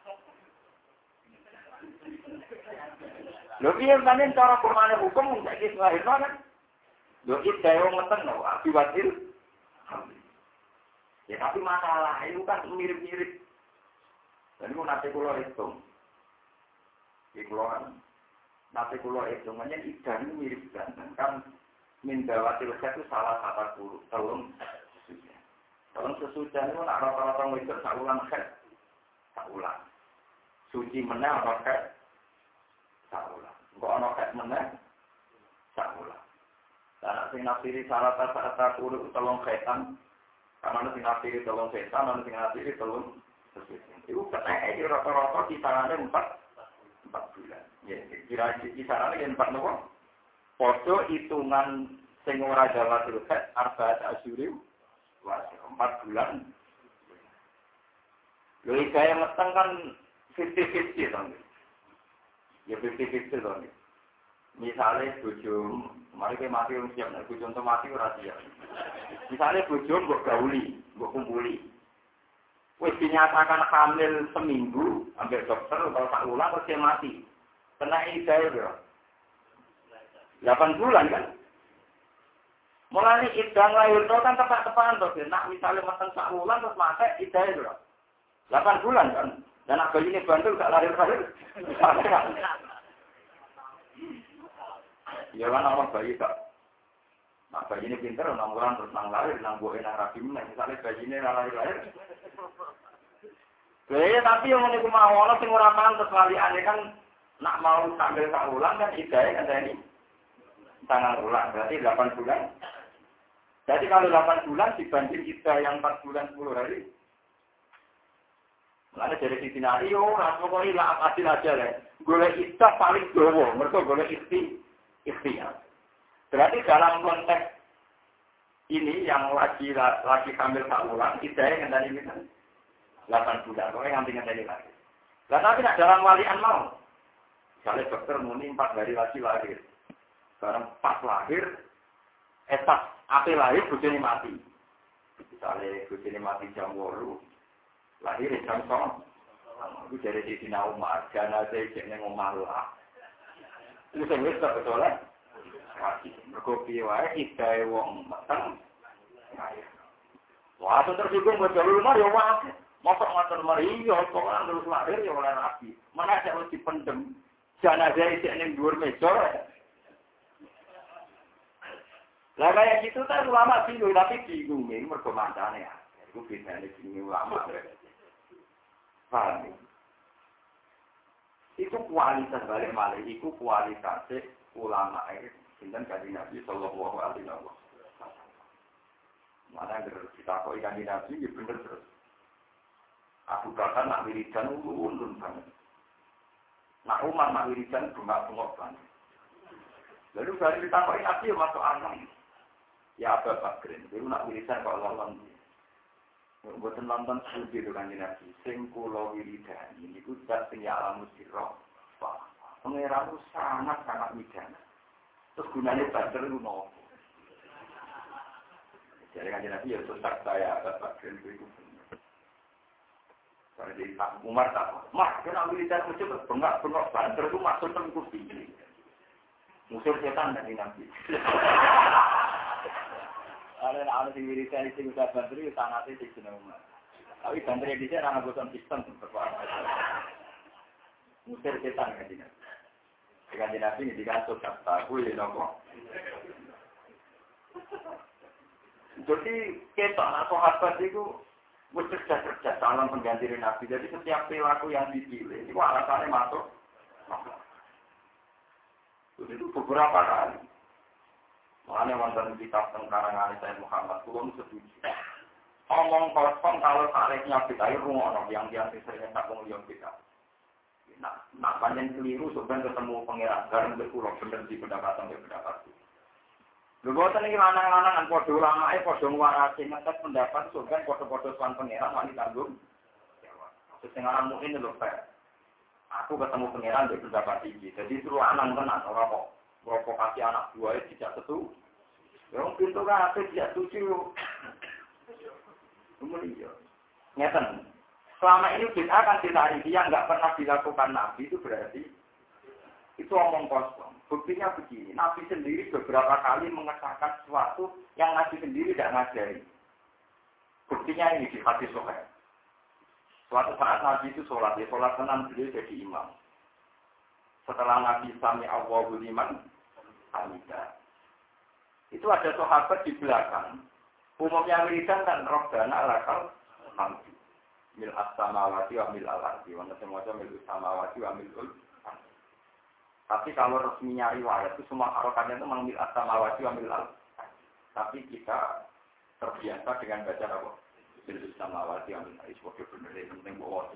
Lho piye panen cara pemane hukum nek iki lahirno kan? Lho iki dhewe ngeten lho, akibatil. Ya tapi masalah itu kan mirip-mirip. Jadi mau nanti kula hitung. Iki kula kan nanti kalau hitungannya ikan mirip ganteng kan mindawatil khat itu salah satu telung sesudah. Telung sesudah itu nak rata-rata ngikut saulan khat, saulan. Suci meneh apa khat, saulan. Kok ana khat meneh, saulan. Dan sing nafsiri salah satu telung khatan, karena sing nafsiri telung khatan, ana sing nafsiri telung sesudah. Itu katanya rata-rata kisarannya empat empat bulan. Ya, kira kisarannya yang empat nopo. Podo hitungan sing ora jawatul khat arba'at asyurim wa empat bulan. Lho iki yang meteng kan fifty fifty to. Ya fifty fifty to. Misale bojo, mari ke mati wong siap nek bojo entuk mati ora siap. Misale bojo mbok gauli, mbok kumpuli. Wis dinyatakan hamil seminggu, ambil dokter atau tak ulang terus dia mati. Kena idah ya. delapan bulan kan. Mulai idah lahir itu kan tepat-tepatan tuh. Nak misalnya makan sak bulan terus mati idah ya. delapan bulan kan. Dan nak bayi ini bantu gak lahir-lahir. Ya kan orang bayi tak. Nak bayi ini pintar enam bulan terus nang lahir nang boe nang rapi meneh. Misalnya bayi ini lahir-lahir. Ya tapi yang niku mau ana sing ora pantes laliane kan nak mau sambil tak ulang kan idae kan ini tangan ulang berarti delapan bulan. Jadi kalau delapan bulan dibanding idah yang empat bulan sepuluh hari. Mulane dari sisi skenario ora pokoke lah adil aja le. Golek idah paling dawa, mergo golek ikhti ikhtiar. Berarti dalam konteks ini yang lagi lagi hamil tak ulang idae kan tadi kita delapan bulan, pokoknya nganti ngenteni lagi. Lah tapi nak dalam walian mau. Misalnya dokter muni empat hari lagi lahir. Sekarang pas lahir, etas ape lahir bojone mati. Misalnya bojone mati jam delapan, lahir jam sembilan. Itu dari di Sina Umar, jenazah jenenge omah lah. Itu sing wis betul lah. Mergo piye wae iki wong meteng. Wah, tersinggung buat jalur rumah ya wah. Mosok ngoten mari ya kok terus lahir ya oleh rapi. Mana ada mesti pendem. Jenazah iki ning dhuwur meja. Lah kayak gitu kan ulama bingung tapi bingung ini mergo mancane ya. Iku bedane bingung ulama. Paham? Itu kualitas balik malih iku kualitas ulama iki sinten kanjeng Nabi sallallahu alaihi wasallam. Mana yang kita kok ikan di Nabi, ya bener terus. Abu Bakar nak wiridan ulun banget. Nak Umar nak wiridan bengak-bengok banget. Lalu dari kita kok Nabi ya masuk anak. Ya Abu Bakar, itu nak wiridan kok lolong. Buatan nonton studi itu kan di Nabi. Sing kula wiridan, ini ku zat sing ya alamu sirah. Pengiramu sangat-sangat widana. Terus gunanya Badar itu nopo. Jadi kan Nabi ya susah saya dapat ilmu itu. Kalau di Pak Umar tak, mak kena militer musuh bengak bengak banter itu masuk tengku tinggi. Musuh setan dari Nabi. Ada ada di militer itu sudah banter itu sangat itu jenuh Umar. Tapi banter di sana anak bosan sistem berkuasa. Musuh setan kan Nabi. Dengan Nabi ini dikasih kata, gue ini nopo. Jadi kita anak sahabat itu bekerja-kerja calon pengganti Nabi. Jadi setiap perilaku yang dipilih itu alasannya masuk. Itu beberapa kali. Makanya wonten kitab tengkarangan saya Muhammad belum setuju. Omong kosong kalau tariknya kita itu rumah yang yang sering tak mengulang kita. Nah, nak panjang keliru sebenarnya ketemu pangeran garam berpulau bener di pendapatan berpendapat. Lho boten iki lanang-lanangan padha ulamae padha ngwarasi ngetes pendapat surga padha-padha sowan pangeran wani tanggung. Sing aran mukmin lho Pak. Aku ketemu pangeran di pendapat iki. Jadi terus anak tenan ora kok provokasi anak buahnya tidak setuju. Wong pintu kabeh tidak setuju. Kemudian ngeten. Selama ini kita akan ditarifi yang enggak pernah dilakukan Nabi itu berarti itu omong kosong. Buktinya begini, Nabi sendiri beberapa kali mengesahkan sesuatu yang Nabi sendiri tidak ngajari. Buktinya ini di hadis Sahih. Suatu saat Nabi itu sholat, ya sholat tenang beliau jadi imam. Setelah Nabi sami Allahu liman hamidah. Itu ada sahabat di belakang. Umumnya wiridan dan robbana lakal hamdi. Mil as-samawati wa mil al-ardi. Wanda semuanya mil as-samawati wa mil al-ardi. Tapi kalau resminya riwayat itu semua harokannya itu mengambil as-samawati wa mil al. Tapi kita terbiasa dengan baca apa? Bil as-samawati wa mil al. Itu benar yang penting bawa.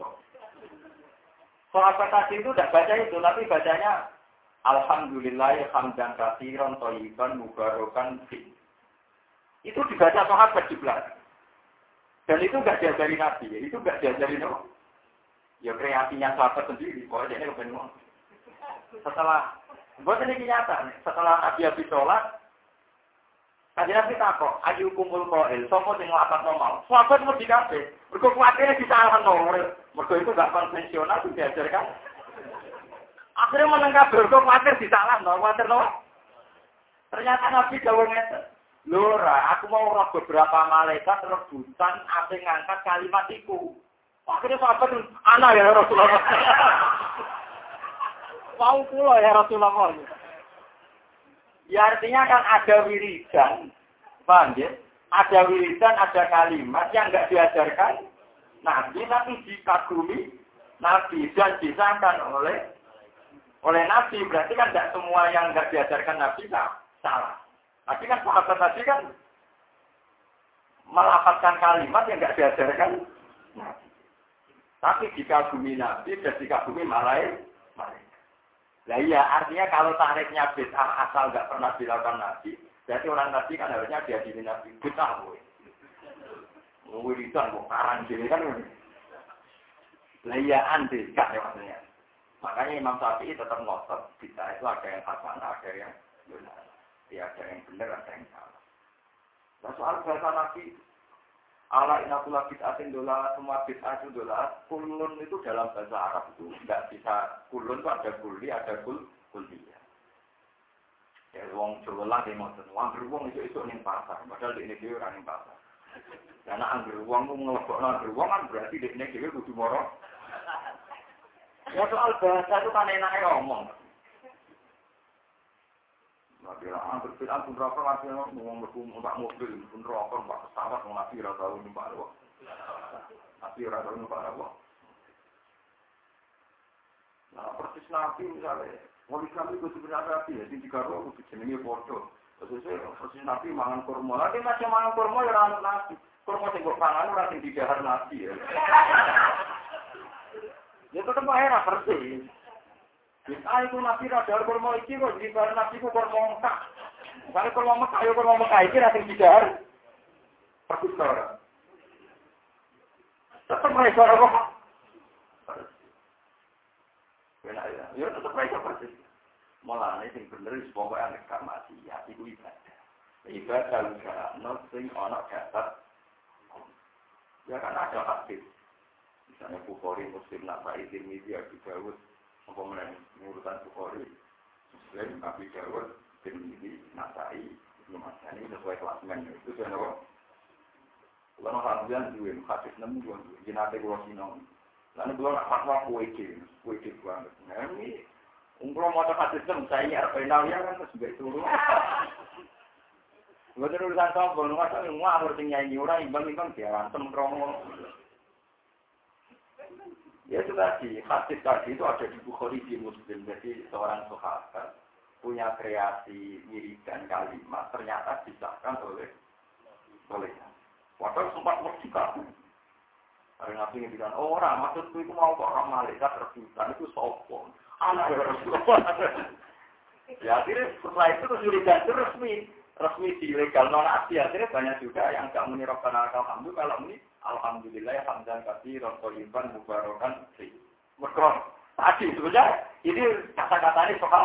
Sahabat tadi itu tidak baca itu, tapi bacanya alhamdulillah hamdan katsiran thayyiban mubarakan fi. Itu dibaca sahabat di belakang. Dan itu enggak diajari Nabi, itu enggak diajari Nabi. Ya kreasinya sahabat sendiri, pokoknya ini kebenaran. Setelah, buat ini nyata, setelah Nabi habis sholat, tadi Nabi takut, ayu kumpul koil, sopo sing lapat normal. Sahabat mau dikabe, mereka kuatirnya disalahan nomor, mereka itu enggak konvensional, itu diajarkan. Akhirnya menengah mereka kuatir disalahan, kuatir nomor. Ternyata Nabi jauh ngetes. Lora, aku mau roh beberapa malaikat rebutan asing ngangkat kalimat itu. Akhirnya sahabat anak ya Rasulullah. Mau pula ya Rasulullah. Ya artinya kan ada wiridan, paham ya? Ada wiridan, ada kalimat yang enggak diajarkan Nabi, tapi dikagumi Nabi dan disahkan oleh oleh Nabi. Berarti kan tidak semua yang enggak diajarkan Nabi salah. Tapi kan sahabat tadi kan melafazkan kalimat yang enggak diajarkan Nabi. Tapi dikagumi Nabi dan dikagumi malaikat. Nah iya, artinya kalau tariknya bid'ah asal enggak pernah dilakukan Nabi, berarti orang Nabi kan harusnya diadili Nabi. Bid'ah, woy. Wiridan kok karang gini kan. Layaan deh, kan ya maksudnya. Makanya Imam Syafi'i tetap ngotot, kita itu ada yang hasanah, ada yang benar. Ya ada yang benar, ada yang salah. Nah, soal bahasa Nabi, ala inakula bid'atin dola, semua bid'ah itu dola, kulun itu dalam bahasa Arab itu tidak bisa, kulun itu ada kuli, ada kul, kuliah. Ya, wong Jawa lah dia maksud, anggur wong itu itu ning pasar, padahal di ini dia orang ning pasar. Karena anggur wong itu ngelebok anggur wong kan berarti di ini dia kudu moro. Ya soal bahasa itu kan enaknya ngomong. Nah, bila anggur bilang pun rokok artinya ngomong berhubung untuk mobil, pun rokok, untuk pesawat, untuk nabi rata ini Pak Arwah. Nabi rata ini Pak Arwah. Nah, persis nabi misalnya, wali kami itu sebenarnya nabi, ya, di tiga roh, itu jenisnya bodoh. Persis persis nabi mangan kurma. Nanti macam mangan kurma, ya orang nabi. Kurma yang berpangan, orang yang didahar nabi. Ya, ya tetap akhirnya persis. Bisa itu nabi radar kurma iki kok jadi barang nabi ku kurma Mekah. Misalnya kurma Mekah, ya kurma Mekah iki rasing didahar. Persis orang. Tetap mereka kok. Benar ya, ya tetap mereka persis. Malah ini yang bener pokoknya anak mati ya itu ibadah. Ibadah juga not sing anak dapat. Ya kan ada hadis. Misalnya Bukhari Muslim Nasa'i Tirmidzi Abu Dawud apa menang urutan Bukhari Muslim Abu Dawud Tirmidzi Nasa'i Ibnu Majah ini sesuai klasmen itu sudah apa? Kalau hadian dua hadis enam dua jenate kula sinau. Lalu kula nak fatwa kuwe iki, kuwe iki banget. Nah ini umpama maca hadis enam saya final ya kan wis turu. Gua terus urusan sopo masa ngawur sing nyanyi ora imbang-imbang diantem kromo. Ya itu tadi, hadis tadi itu ada di Bukhari di Muslim. Jadi seorang sahabat punya kreasi wiridan kalimat ternyata disahkan oleh oleh. Padahal sempat merdeka. Ada nabi yang bilang, oh, orang maksudku itu mau kok orang malaikat rebutan itu sopong. Anak Rasulullah. Ya akhirnya setelah itu terus wiridan itu resmi. Resmi dilegal non-asli. Akhirnya banyak juga yang gak muni Rabbana alhamdulillah kalau muni alhamdulillah hamdan katsiran thayyiban mubarakan fi. Mergo tadi sebenarnya ini kata-katanya soal.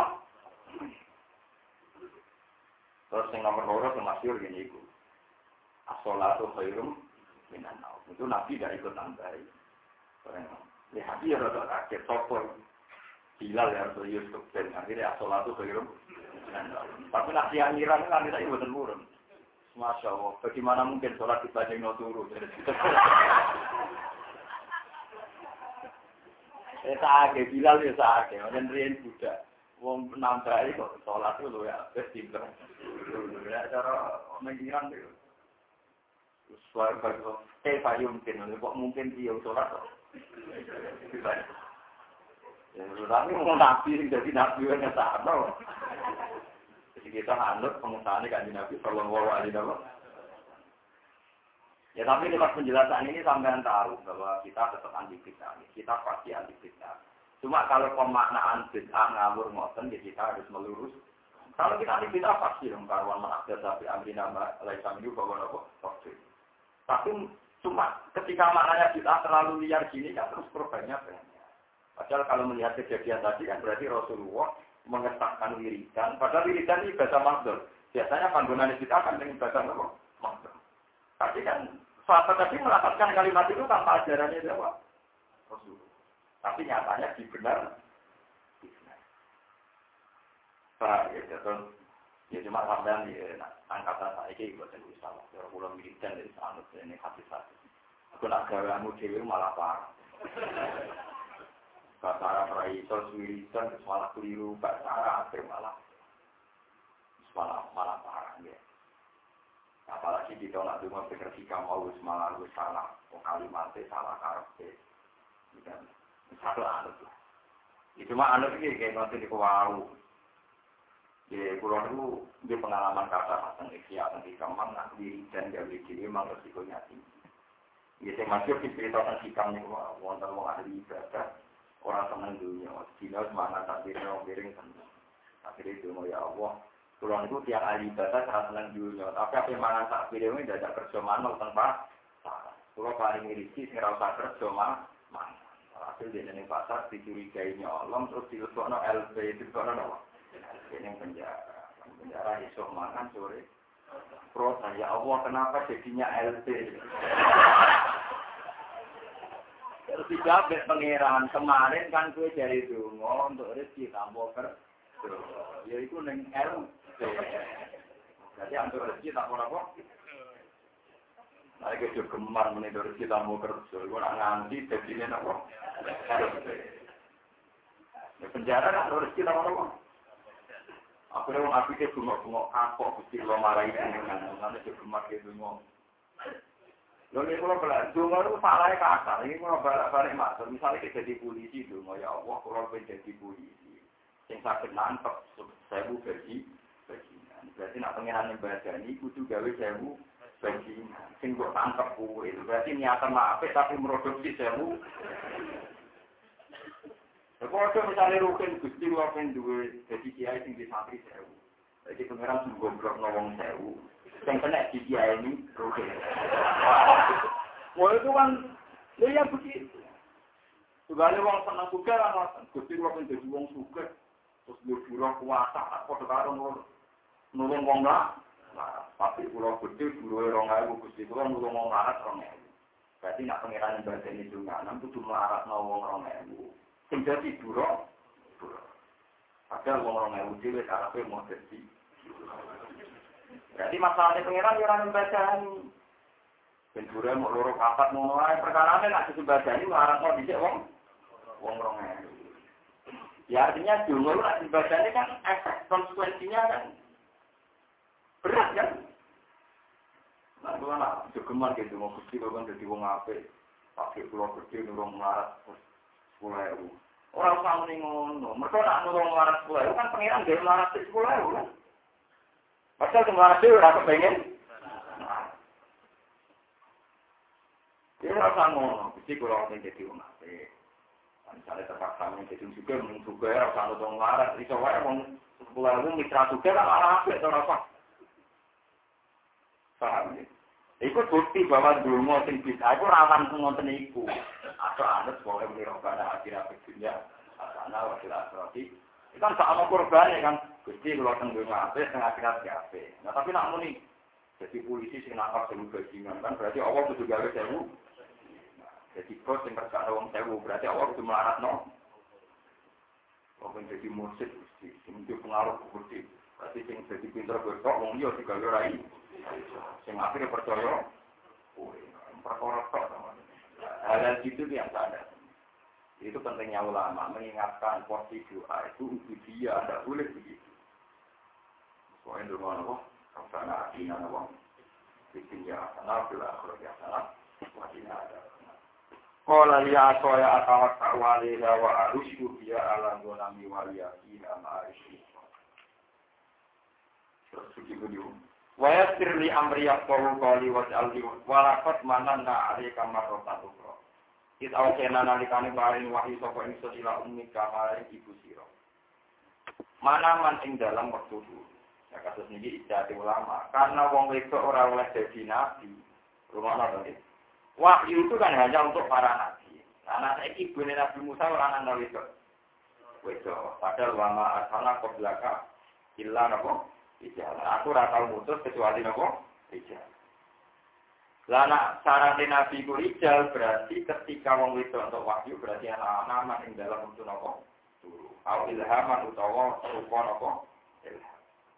Terus yang nomor loro yang masyhur gini iku. As-sholatu khairum minan naum. Itu Nabi dari ikut tambahi. Ya hati ya rada kaget sopor. Bilal ya atau Yusuf dan akhirnya as-sholatu khairum minan naum. Tapi nak siang-siang kan kita ibu turun. Masya Allah, bagaimana mungkin sholat dibaca no turu? Eh sahake, Bilal ya sahake, macam rian Buddha. Wong nambah kok sholat itu loh ya, best timbang. Ya cara mengiran itu. Suara bagus, eh payung mungkin, kok mungkin dia sholat kok. Ya, tapi mau nabi, jadi nabi yang sama. Kita anut pengusahaan kan Nabi Sallallahu Alaihi Wasallam. Ya tapi lewat penjelasan ini sampean tahu bahwa kita tetap anti bid'ah. Kita pasti anti bid'ah. Cuma kalau pemaknaan bid'ah ngawur ngoten ya kita harus melurus. Kalau kita anti bid'ah pasti dong karuan menakdir tapi amrina laisa minhu bahwa nopo pasti. Tapi cuma ketika maknanya bid'ah terlalu liar gini kan terus perubahannya banyak. Padahal kalau melihat kejadian tadi kan berarti Rasulullah mengesahkan wiridan, padahal wiridan ini bahasa makhluk. Biasanya panggonan kita akan dengan bahasa makhluk. Tapi kan sahabat tadi melakukan kalimat itu tanpa ajarannya apa? Rasulullah. Tapi nyatanya dibenar. Pak, ya terus ya cuma sampean di angkatan saya ini buatan usaha. Kalau pulang wiridan dari sanut ini hati-hati. Aku nak gawamu dewi malah parah. Bahasa Arab itu wiridan malah keliru, bahasa Arab malah malah malah parah ya. Apalagi di tolak cuma berketika mau malah lu salah, kalimatnya salah karakter. Dan satu anut lah. Itu mah anut ini kayak nanti di kawau. Di pulau itu di pengalaman kata tentang ikhya tentang kamar nak wiridan dari diri memang resikonya tinggi. Jadi masih diceritakan hikamnya wonten wong ahli ibadah. Orang senang dunia, Cina semangat takdirnya miring senang. Akhirnya itu ya Allah. Kurang itu tiap ahli ibadah sangat senang dunia. Tapi apa yang mangan takdirnya ini tidak kerja manual tanpa salah. Kalau paling mirisi, saya rasa kerja manual. Hasil dia ning pasar dicurigai nyolong terus dilebokno L P dilebokno apa? Ning penjara. Penjara esuk mangan sore. Protes ya Allah kenapa jadinya L P? Terus dijawab pangeran kemarin kan gue jadi dongo untuk rezeki tambah kerja. Ya itu ning L P. Jadi untuk rezeki tak apa? Nah, itu gemar menidor kita mau kerja. Gue nak nganti jadinya apa? Di penjara nak rezeki tak apa? Aku nih orang Afrika bungok-bungok kapok, mesti lo marahin dengan mana juga gemar gitu ngomong. Lo ini kalau balik dungo itu salahnya kasar. Ini kalau balik-balik masuk, misalnya kita jadi polisi dungo ya Allah, kalau kita jadi polisi, yang sakit nangkep sewu bagi bajingan. Berarti nak pengiran yang badani, kudu gawe sewu bajingan. Sing kok tangkep kue, berarti niatan maaf tapi produksi sewu. Kalau misalnya rukin gusti rukin dua, jadi kiai sing di santri sewu. Jadi pengiran sing goblok ngomong sewu. Yang kena di kiai ini rukin. Wah itu kan, ya begitu. Segala orang senang suka lah, gusti rukin jadi orang suka. Terus berdua kuasa, apa sekarang nulung orang lah. Tapi pulau gede, pulau orang ewu, gusti pulau nulung orang larat orang ewu. Berarti nak pengiran yang baca ini juga, nanti cuma larat ngomong orang ewu. Jadi buruk, buruk. Padahal orang yang uji, karena saya mau jadi. Jadi masalahnya pengiran orang yang baca ini. Benturnya mau lorok kapat, mau mulai perkaraannya nak dibaca ini, marah mau dijak wong, wong orang yang. Ya artinya jumlah nak dibaca ini kan efek konsekuensinya kan berat kan. Nah itu kan jogeman gitu, mau gusti kan jadi wong ape, pakai pulau gede nurung melarat. sepuluh ribu. Orang sama ni ngono. Mereka nak nurung melarat sepuluh ribu kan pengiran dia melarat sepuluh ribu kan. Pasal melarat itu rasa pengen. Dia rasa ngono. Mesti kalau orang jadi orang apa. Misalnya terpaksa menjadi juga, juga rasa nurung melarat. Jadi soalnya orang sepuluh ribu mitra juga kan malah apa itu rasa. Paham ya? Ikut bukti bahwa dungo sing bisa itu rawan ngoten iku. Atau anut boleh mirokana akhirat dunia. Asana wakil asrati. Itu kan sama korban ya kan. Gusti kalau tenggung ngape, tengah akhirat ngape. Nah tapi nak muni. Jadi polisi sing nangkap sewu bajingan kan berarti Allah kudu gawe sewu. Jadi bos sing kerja wong sewu berarti Allah kudu melarat no. Wong jadi mursid Gusti, sing pengaruh Gusti. Berarti sing jadi pinter besok wong liya digawe rai. Sing akhirnya percaya, perkara tok sama. Hal itu yang sadar. Itu pentingnya ulama mengingatkan posisi doa itu ubudiyah, tidak boleh begitu. Soalnya doa apa? Karena akhirnya apa? Bikinnya sana, bila akhirnya sana, wajibnya ada. Kalau lihat soya atawat awali lawa arusyu dia ala gonami waliyaki nama arusyu. Terus begitu dia. Waya sirli amriyah kawu kali waj'alli walakot mananna alika marrotan ukro. Kita awasena nalikani paring wahyu sapa ingsun ila ummika maring ibu sira. Mana man ing dalam waktu dulu. Ya kasus niki ijazah ulama. Karena wong wedok ora oleh dadi nabi. Rumono to. Wahyu itu kan hanya untuk para nabi. Nah, saiki ibune Nabi Musa ora ana wedok. Wedok. Padahal wama asana qoblaka illa napa? Ijal. Aku ora tau mutus kecuali nopo? Ijal. Lah nek syaratnya nabi ku ijal berarti ketika wong wedok untuk wahyu berarti ana nama ing dalam untuk nopo? Turu. Au ilhaman utawa rupa nopo? Ilham.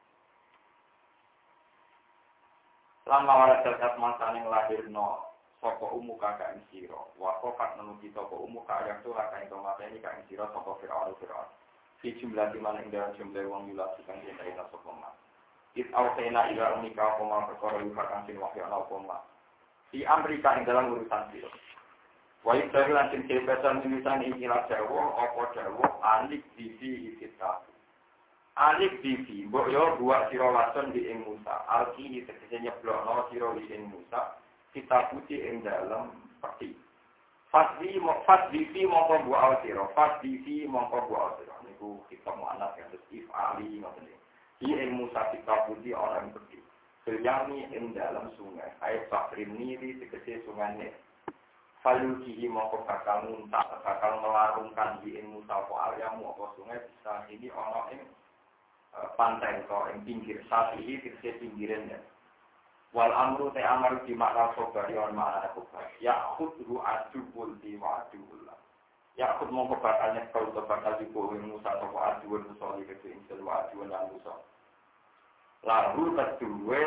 Lama wala terkat masane nglahirno saka umu kakak ing sira. Wa kok menuju saka umu kakak itu kakak ing mateni kakak ing sira saka Firaun Firaun. Di jumlah di mana ing dalam jumlah wong yulas kang dene sapa mas. It awsena ila unika koma perkara yukakan sin wahyu ana koma. Di Amerika ing dalam urusan itu. Wa itu lantin kebebasan tulisan ikilah Jawa apa Jawa alik divi kita. Alik divi mbok yo buat sira wason di ing Musa. Alki di tegese nyeblokno sira di ing Musa. Kita putih ing dalam peti. Fasdi mo fasdi mongko buat sira. Fasdi mongko buat sira. Niku kita mau anak yang if ali ngoten. Di ing Musa kita putih orang pergi. Senyami ing dalam sungai. Ayat Fakrim Niri tegese sungai. Falukihi mongko bakal muntak, bakal melarungkan di ing Musa apa aliamu apa sungai bisa ini ana ing pantai atau ing pinggir sapi iki pinggiran ya. Wal amru te amar di makna sobari on makna kobar. Ya khudhu adubul di wadullah. Ya khud mongko bakal nyekel to bakal dipo ing Musa apa adubul Musa iki ke ing wadul lan Musa. Lalu kedua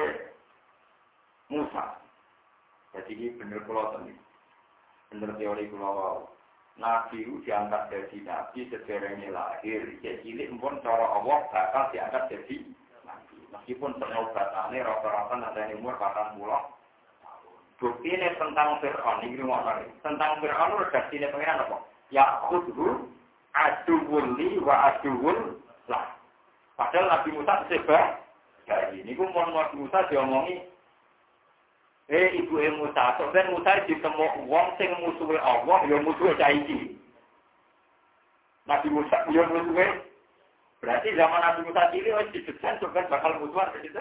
Musa. Jadi ini benar kula tenan. Bener teori kula wau. Nabi itu diangkat jadi nabi sederenge lahir, jadi cilik pun cara Allah bakal diangkat jadi nabi. Meskipun penobatannya rata-rata nanti umur patang puluh tahun. Bukti ini tentang Fir'aun, ini ngomong tentang Fir'aun redaksinya pengiran apa? Ya khudhu aduwulli wa aduwul lah. Padahal Nabi Musa sebab jadi ini pun Nabi Musa diomongi Eh ibu e Musa, sampeyan Musa ditemu wong sing musuhe Allah, ya musuhe saiki. Nabi Musa ya musuhe. Berarti zaman Nabi Musa cilik wis didesain sampeyan bakal musuhan begitu.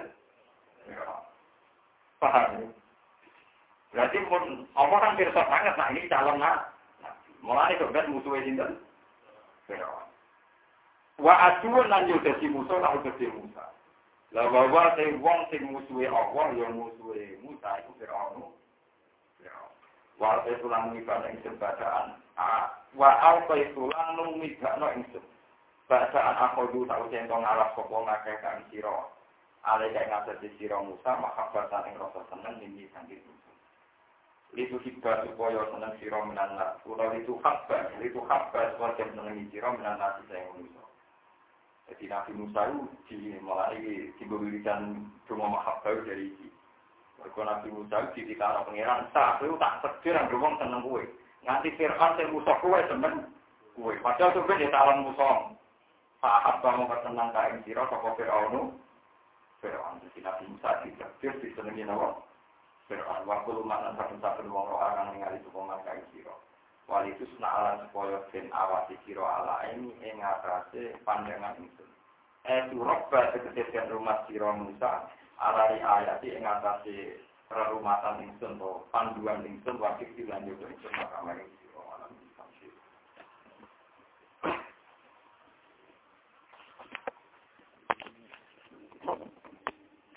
Paham? Berarti pun Allah kan pirsa banget nah ini calon nabi. Mulane sampeyan musuhe sinten? Firaun. Wa aduun lan yo dadi musuh lan dadi Musa. Lah bahwa sing wong sing musuhe Allah ya musuhe Musa iku Firaun. Firaun. Wa tulang ibadah ing sebadaan. Wa alqa tulang numibakno ing seb. Bacaan akhodu tau centong ngalap sapa ngakeh kang sira. Ale kaya ngatasi sira Musa mahabbatan ing rasa seneng niki sanggih Musa. Itu hibah supaya seneng sira menawa ora itu habba, itu habba supaya seneng sira menawa sing Musa. Jadi Nabi Musa itu dimulai diberikan rumah mahabbah dari ini. Mereka Nabi Musa itu dikatakan pengiran, tak, itu tak seger yang rumah seneng kue. Nanti Fir'aun yang Musa kue seneng kue. Padahal itu dia salam Musa. Saat kamu bersenang kain sirah, sopa Fir'aunu. Fir'aun. Jadi Nabi Musa dikabir, disenengi nama Fir'aun. Waktu lumayan satu-satu wong roh akan mengali sukungan kain sirah. Wal itu sena'alan supaya ben awasi siro ala ini yang ngatasi pandangan itu. Eh surabba sekesesian rumah siro Musa alari ayat yang ngatasi rerumatan insun atau panduan insun wakil dilanjut insun.